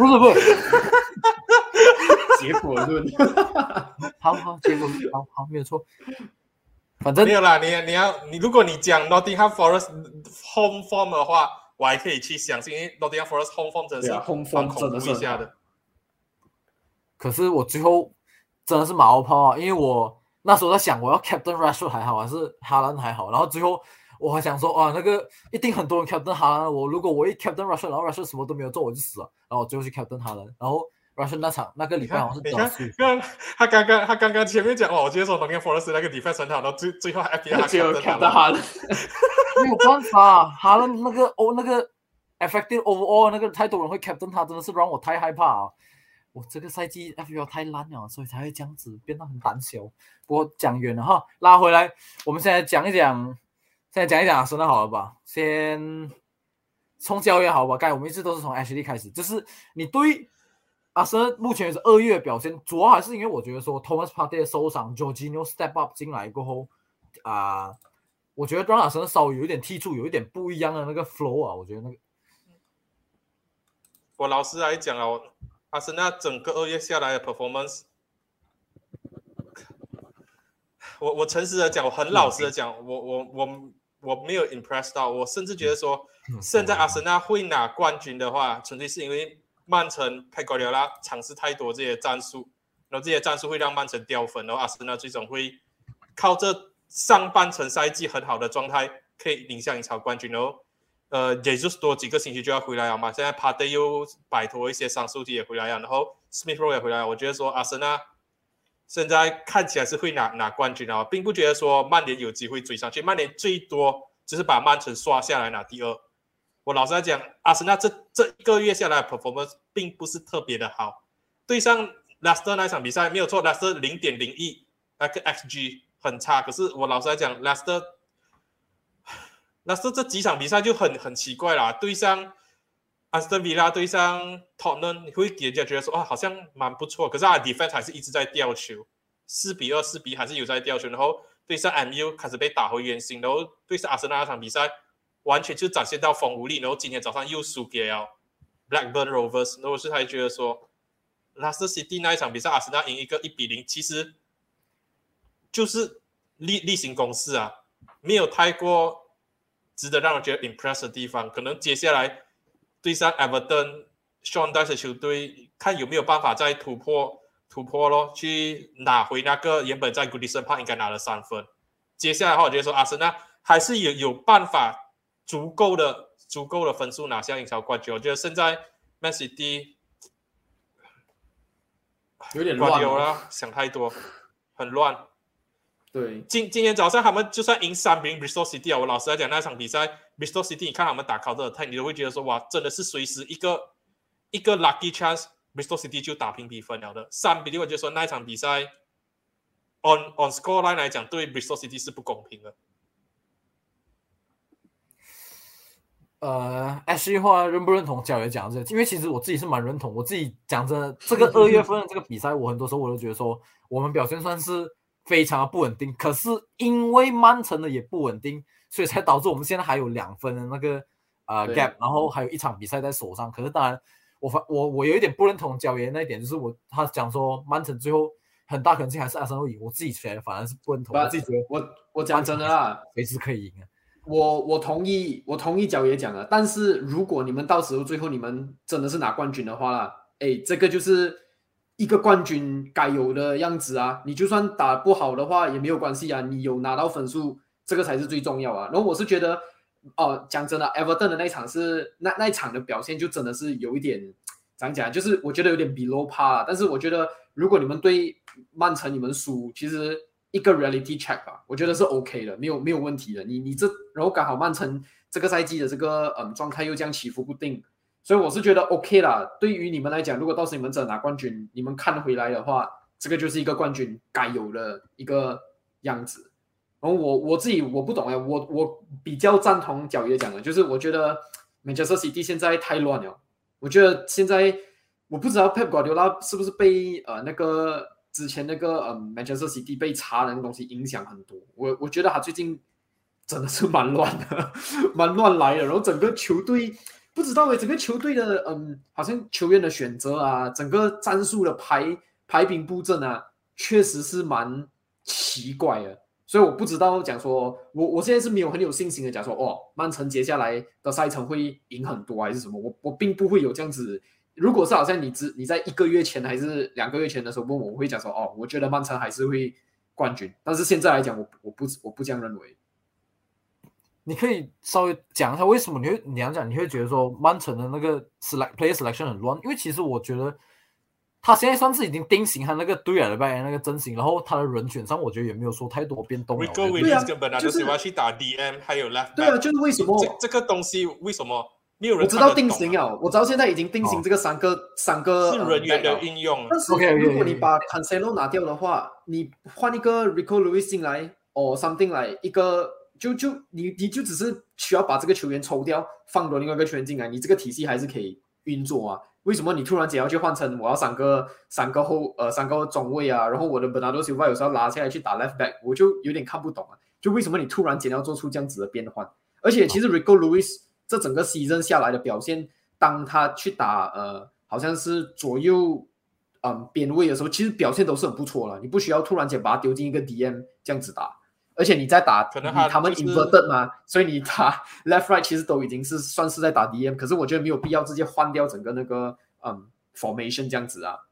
结果论。 好，结果好，没有错。反正没有啦，你如果你讲 Nottingham Forest home form 的话，我还可以去相信，因为 Nottingham Forest home form 真的是 home form 真的是一下的。 可是我最后真的是马后炮啊，因为我那时候在想，我要 Captain Rashford 还好，还是哈兰还好，然后最后我还想说啊，那个一定很多人 captain 哈兰，如果我一 captain Russia， 然后 Russia 什么都没有做，我就死了，然后我最后去 captain 哈兰，然后 Russia 那个礼拜好像是你看，他刚刚前面讲哦，我接受农业 Forest 那个 defense 很好，然后最后 FPL 只有 captain 哈兰， 没有办法，哈兰那个effective overall 那个太多人会 captain 他，真的是让我太害怕啊！我这个赛季 FPL 太烂了，所以才会这样子变得很胆小。不过讲远了哈，拉回来，我们现在讲一讲阿森纳好了吧？先从教练好吧，我们一直都是从 Ashley 开始，就是你对阿森纳目前是2月表现，主要还是因为我觉得说 Thomas Partey 受伤 ，Jorginho step up 进来过后我觉得让阿森纳稍微有一点踢出有一点不一样的那个 flow 啊，我觉得那个。 我老实来讲哦，阿森纳整个2月下来的 performance， 我诚实的讲，我很老实的讲，我没有 impressed 到，我甚至觉得说，现在阿森纳会拿冠军的话，纯粹是因为曼城佩瓜迪奥拉尝试太多这些战术，然后这些战术会让曼城掉分，然后阿森纳最终会靠这上半程赛季很好的状态，可以领下英超冠军，然后也就是多几个星期就要回来了嘛。现在帕蒂又摆脱一些伤数题也回来了，然后 Smith Rowe 也回来了。我觉得说阿森纳现在看起来是会拿冠军啊，并不觉得说曼联有机会追上去。曼联最多只是把曼城刷下来拿第2。我老实来讲，阿森纳这1个月下来的 performance 并不是特别的好。对上 Leicester 那场比赛没有错 ，Leicester 0.01那个 XG 很差，可是我老实来讲 ，Leicester 这几场比赛就很奇怪啦。对上安斯顿维拉，对上 Tottenham， 你会给人家觉得说好像蛮不错，可是他的 defense 还是一直在掉球，4-2、4-1还是有在掉球。然后对上 MU 开始被打回原形，然后对上阿森纳那场比赛完全就展现到风无力，然后今天早上又输给了 Blackburn Rovers， 然后我是还觉得说 Leicester City 那一场比赛阿森纳赢一个1-0，其实就是例行公事啊，没有太过值得让人觉得 impress 的地方。可能接下来对上 Everton、Sean Dyche 的球队，看有没有办法再突破咯，去拿回那个原本在 Goodison Park 应该拿的3分。接下来的话，我觉得说阿森纳还是有办法足够的分数拿下英超冠军。我觉得现在 Man City 有点乱了，想太多，很乱。 对， 今天早上他们就算赢3-0 Bristol City 啊，我老实来讲那场比赛 Bristol City 你看他们打 counter attack， 你都会觉得说哇，真的是随时一个 lucky chance Bristol City 就打平比分了的。3-0我就说那一场比赛 on score line 来讲对 Bristol City 是不公平的。 Ashley 话认不认同教练讲这个？因为其实我自己是蛮认同，我自己讲真的，这个2月份的这个比赛，我很多时候我都觉得说我们表现算是非常的不稳定，可是因为曼城的也不稳定，所以才导致我们现在还有2分的那个gap， 然后还有一场比赛在手上。可是当然，我有一点不认同教练那一点，就是他讲说曼城最后很大可能性还是阿森纳赢，我自己觉得反而是不认同。我自己觉得我讲真的啦， 随时可以赢啊。 我同意角爷讲的，但是如果你们到时候最后你们真的是拿冠军的话啦，这个就是一个冠军该有的样子啊！你就算打不好的话也没有关系啊，你有拿到分数，这个才是最重要啊。然后我是觉得，讲真的 ，Everton 的那场是那一场的表现就真的是有一点怎样讲，就是我觉得有点 below par， 但是我觉得如果你们对曼城你们输，其实一个 reality check 吧，我觉得是 OK 的，没有问题的。你这然后刚好曼城这个赛季的这个状态又这样起伏不定。所以我是觉得 OK 啦，对于你们来讲，如果到时你们真的拿冠军，你们看回来的话，这个就是一个冠军该有的一个样子。然后我自己我不懂我比较赞同角爷讲的，就是我觉得 Manchester City 现在太乱了。我觉得现在我不知道 Pep Guardiola 是不是被那个之前那个Manchester City 被查的那个东西影响很多。我觉得他最近真的是蛮乱的，蛮乱来的。然后整个球队。不知道整个球队的好像球员的选择啊，整个战术的排兵布阵啊，确实是蛮奇怪的。所以我不知道讲说，我现在是没有很有信心的讲说，曼城接下来的赛程会赢很多还是什么，我并不会有这样子。如果是好像你在1个月前还是2个月前的时候问我会讲说，我觉得曼城还是会冠军。但是现在来讲，我不这样认为。 你可以稍微讲一下为什么你会觉得说曼城的那个player selection 很乱？因为其实我觉得他现在算是已经定型他那个队了吧，那个阵型，然后他的人选上我觉得也没有说太多变动了。 Rico Williams 根本就是要去打 DM， 还有 left back。 对啊，就是为什么这个东西为什么没有人我知道定型了，我知道现在已经定型这个三个是人员的运用。 但是如果你把 Cancelo 拿掉的话，你换一个 Rico Lewis 进来or something 来一个。你就只是需要把这个球员抽掉，放另外一个球员进来，你这个体系还是可以运作啊。为什么你突然间要去换成我要三个中卫啊，然后我的 Bernardo Silva 有时候拉下来去打 left back， 我就有点看不懂啊。就为什么你突然间要做出这样子的变换？而且其实 Rico Lewis 这整个 season 下来的表现，当他去打好像是左右边位的时候，其实表现都是很不错了。你不需要突然间把他丢进一个 DM 这样子打。而且你在打， 可能他们 inverted 嘛，所以你打 left right 其实都已经是算是在打 DM， 可是我觉得没有必要直接换掉整个那个formation 这样子啊。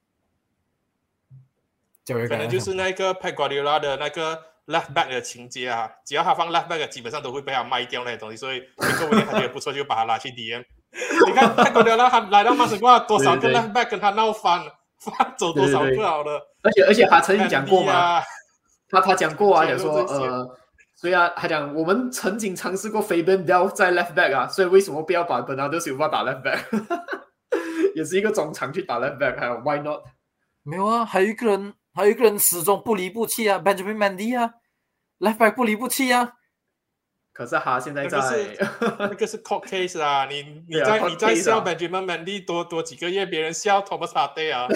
可能就是那个 Pep Guardiola 的那个 left back 的情节啊，只要他放 left back 基本上都会被他卖掉那些东西，所以Rico Williams他觉得不错就把他拉去 DM。你看 Pep Guardiola 他来到曼城过后，多少个 left back 跟他闹翻走多少个好了。 而且他曾经讲过嘛。他讲过啊，讲说所以啊，他讲我们曾经尝试过 Fabian Delph 在 left back 啊，所以为什么不要把 Bernardo Silva 打 left back？ 也是一个中场去打 left back， 还有 why not？ 没有啊，还有一个人始终不离不弃啊 ，Benjamin Mendy 啊 ，left back 不离不弃啊。 可是他现在在那个是 court case 啊，你在笑 Benjamin Mendy 多几个月，别人笑 Thomas Partey 啊。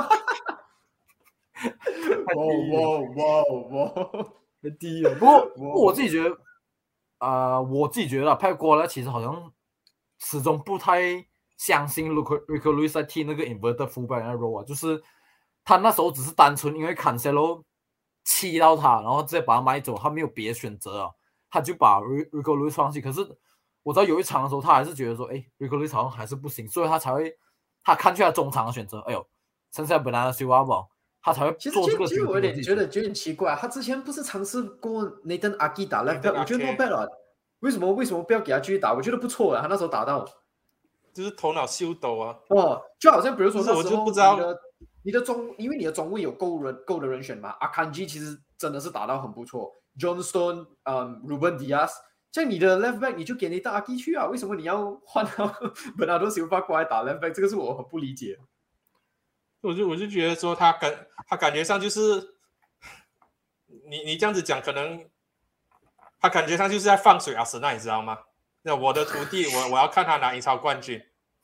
太低了。不过我自己觉得，Pep Guardiola其实好像始终不太相信 Rico Lewis 在踢那个 inverted fullback 那 role 啊，就是他那时候只是单纯因为 Cancelo 气到他，然后直接把他买走，他没有别的选择啊，他就把 Rico Lewis 放弃。可是我知道有一场的时候，他还是觉得说，Rico Lewis 好像还是不行，所以他看去他中场的选择，剩下Bernardo Silva。他才会做这个。 其实我有点觉得奇怪，他之前不是尝试过 Nathan Ake 打 left back， 我觉得 not bad 了。为什么不要给他继续打？我觉得不错啊，他那时候打到， 就是头脑秀抖啊。 就好像比如说那时候我就不知道因为你的中卫有够的人选嘛 ，Akanji 其实真的是打到很不错 ，John Stone，Ruben Dias， 像你的 left back 你就给Nathan Ake 去啊，为什么你要换到 Bernardo Silva 过来打 left back？ 这个是我很不理解。 我就觉得说他感觉上就是你这样子讲，可能他感觉上就是在放水阿森纳，你知道吗？那我的徒弟，我要看他拿英超冠军。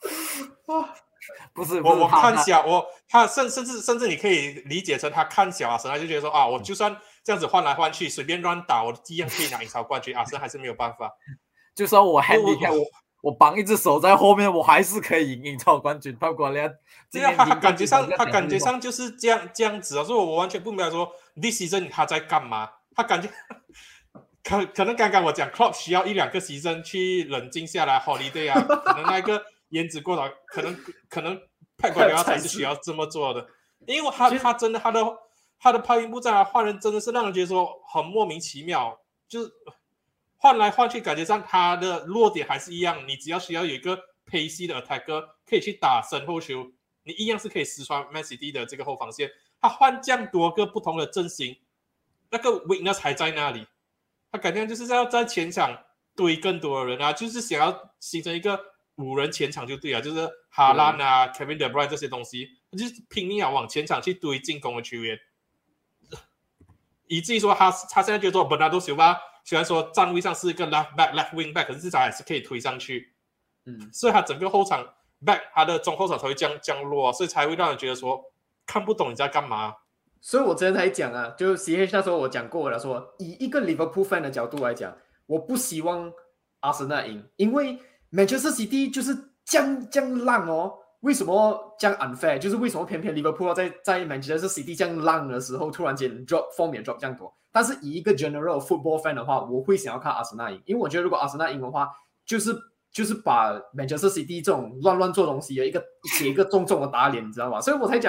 不是我看小他甚至你可以理解成他看小阿森纳，就觉得说啊，我就算这样子换来换去，随便乱打，我一样可以拿英超冠军。阿森纳还是没有办法， 就算我 handicap 我绑一只手在后面，我还是可以赢英超冠军。包括他感觉上就是这样子啊，所以我完全不明白说 this season 他在干嘛。他感觉可能刚刚我讲 Klopp 需要1-2个 season 去冷静下来 holiday 啊，可能那个颜值过了，可能Pep Guardiola才是需要这么做的，因为他真的他的炮兵布阵换人真的是让人觉得说很莫名其妙，就是换来换去，感觉上他的弱点还是一样。你只要需要有一个 pacey 的 attacker 可以去打身后球，你一样是可以撕穿 Man City 的这个后防线。他换这样多个不同的阵型，那个 weakness 还在那里。他感觉就是要在前场堆更多的人啊，就是想要形成一个5人前场就对了，就是哈兰啊、Kevin De Bruyne 这些东西，就是拼命要往前场去堆进攻的球员，以至于说他现在觉得说 Bernardo Silva 虽然说站位上是一个 left back left wing back， 可是至少还是可以推上去，所以他整个后场 back 他的中后场才会降落，所以才会让人觉得说看不懂你在干嘛。 所以我之前才讲啊，就 CH 那时候我讲过了，说以一个 Liverpool fan 的角度来讲，我不希望阿森纳赢，因为 Manchester City 就是这样烂哦。为什么这样 unfair？ 就是为什么偏偏 Liverpool 在 Manchester City 这样烂的时候，突然间 form 也 drop 这样多。但是以一个 general football fan 的话，我会想要看阿森纳赢，因为我觉得如果阿森纳赢的话，就是把 Manchester City 这种乱做东西的给一个重重的打脸，你知道吗？所以我才讲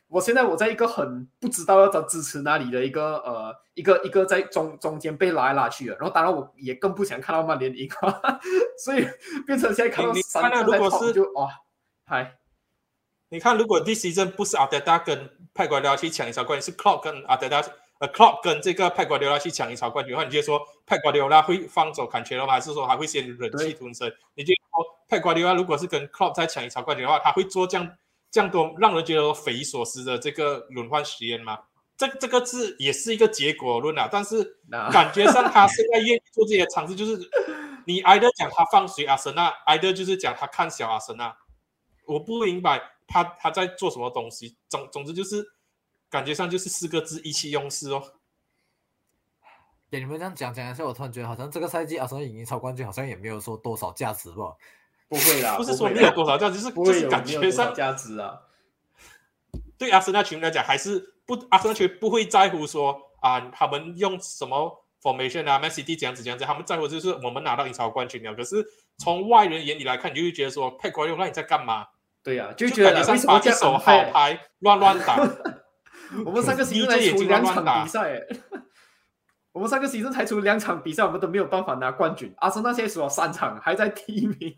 我现在在一个很不知道要支持哪里的一个在中间被拉来拉去的，然后当然我也更不想看到曼联赢，所以变成现在看到三个在跑就哇，嗨。 你看，如果this season 不是阿德达跟佩瓜迪奥拉去抢英超冠军，是 Klopp 跟Klopp 跟这个佩瓜迪奥拉去抢英超冠军的话，你觉得说佩瓜迪奥拉会放走坎切洛吗？还是说还会先忍气吞声？你觉得说佩瓜迪奥拉如果是跟 Klopp 在抢英超冠军的话，他会做这样多让人觉得匪夷所思的这个轮换实验吗？这个字也是一个结果论啊，但是感觉上他现在愿意做这些尝试，就是你 either 讲他放水阿森纳 ，either 就是讲他看小阿森纳，我不明白。他在做什么东西？总之就是感觉上就是4个字：意气用事哦。 给你们这样讲一下，我突然觉得好像这个赛季阿森纳赢英超冠军好像也没有说多少价值吧？ 不会啦， 不是说没有多少价值，就是感觉上价值啊。 对阿森纳球迷来讲，还是阿森纳球迷不会在乎说啊，他们用什么 formation 啊 ，Man City 这样子，他们在乎就是我们拿到英超冠军了。可是从外人眼里来看，你就会觉得说，佩瓜迪奥拉你在干嘛？ 对呀、就觉得感觉上把一手好牌乱打。 我们上个season才出2场比赛，我们上个season才出2场比赛，我们都没有办法拿冠军。阿森纳现在输了3场，还在第1名。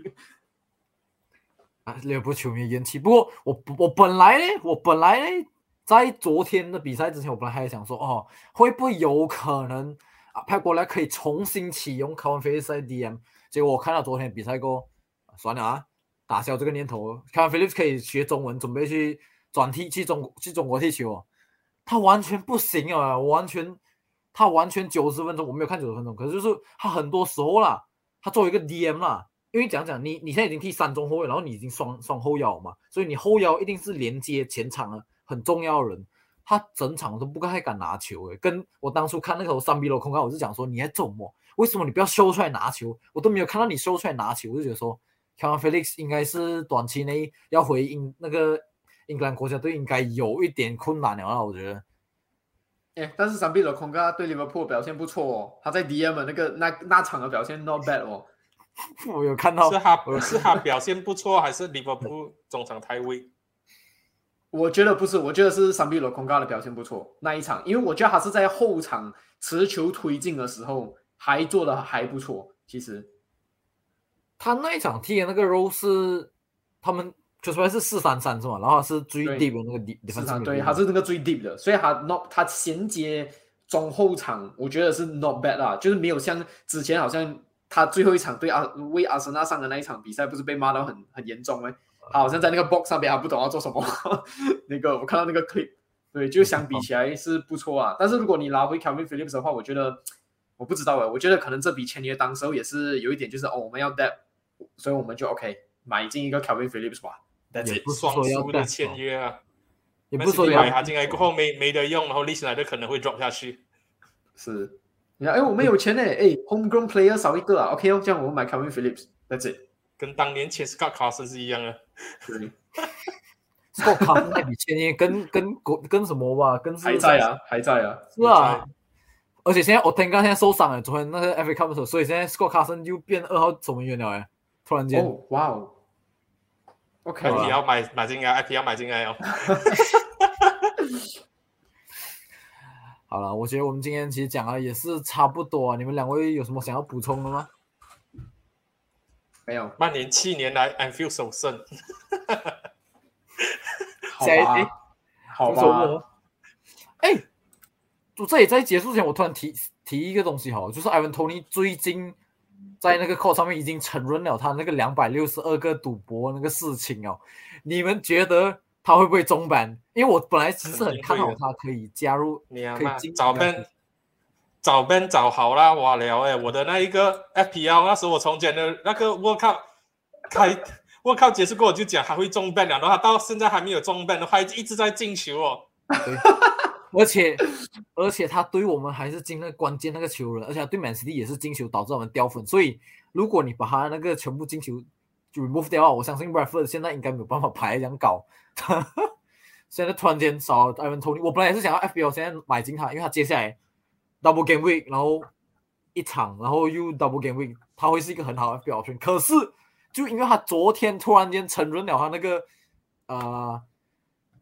利物浦球迷怨气。不过我本来呢，在昨天的比赛之前，我本来还想说，会不会有可能佩瓜迪奥拉可以重新启用卡文菲利斯在 DM？ 结果我看到昨天比赛过，算了啊。打消这个念头。看 Phillips 可以学中文，准备去转踢去中国踢球哦。他完全不行啊！他完全90分钟，我没有看90分钟，可是就是他很多时候啦，他作为一个 DM 啦，因为讲你现在已经踢3中后卫，然后你已经双后腰嘛，所以你后腰一定是连接前场的很重要的人。他整场都不太敢拿球诶，跟我当初看那个3比0空干，我是讲说你在做什么？为什么你不要秀出来拿球？我都没有看到你秀出来拿球，我就觉得说。Calvin Felix 应该是短期内要回那个英格兰国家队应该有一点困难了啦，我觉得。 但是3比0空干对利物浦表现不错哦，他在 DM 那场的表现 not bad 哦。 我有看到， 是他表现不错，还是利物浦中场太位？ 我觉得不是，我觉得是3比0空干的表现不错那一场，因为我觉得他是在后场持球推进的时候还做的还不错，其实。 他那一场踢的那个 role 是他们就出来是4-3-3是吗？然后他是最 deep 的那个 defense， 对，他是那个最 deep 的，所以他衔接中后场，我觉得是 not bad 啦，就是没有像之前好像他最后一场为阿森纳上的那一场比赛，不是被骂到很严重吗？他好像在那个 box 上面，他不懂要做什么。那个我看到那个 clip， 对，就相比起来是不错啊。但是如果你拿回 Calvin Phillips 的话，我觉得我不知道我觉得可能这笔签约当时候也是有一点就是我们要 depth。所以我们就 OK 买进一个 Calvin Phillips 吧， 也不双输的签约啊， 也不是说买他进来过后没得用，然后历史来的可能会 drop 下去。 是，我们有钱呢，homegrown player 少一个啊 ，OK 这样我们买 Calvin Phillips，that's it， 跟当年签 Scott Carson 是一样的。 Scott Carson 那笔签约跟什么吧，跟还在啊， 是啊。而且现在Otamendi现在受伤了，昨天那个 FA Cup 的时候，所以现在 Scott Carson 就变2号守门员了突然间。 哇哦 ，OK， IP 要买进来 ，IP 要买进来哦。 好了，我觉得我们今天其实讲的也是差不多啊，你们2位有什么想要补充的吗？ 没有。 曼联7年来 Anfield 首胜。 好吧。 这里在结束前，我突然提一个东西好了，就是 Ivan Toney 最近在那个 court 上面已经承认了他那个262个赌博那个事情哦。你们觉得他会不会中ban？因为我本来其实很看好他可以加入，可以进早 ban 早好啦，哇了我的那一个 FPL 那时候我重建的那个 World Cup 结束过后我就讲还会中 ban 了，然后他到现在还没有中 ban 的话，一直在进球哦。 对。而且他对我们还是进那个关键那个球人，而且他对 Man City 也是进球导致我们掉分，所以如果你把他那个全部进球就 remove 掉的话，我相信 Bradford 现在应该没有办法排这样高。现在突然间少了 Ivan Toney， 我本来也是想要 FPL 现在买进他，因为他接下来 double game week， 然后一场，然后又 double game week， 他会是一个很好的 FPL option。可是就因为他昨天突然间承认了他那个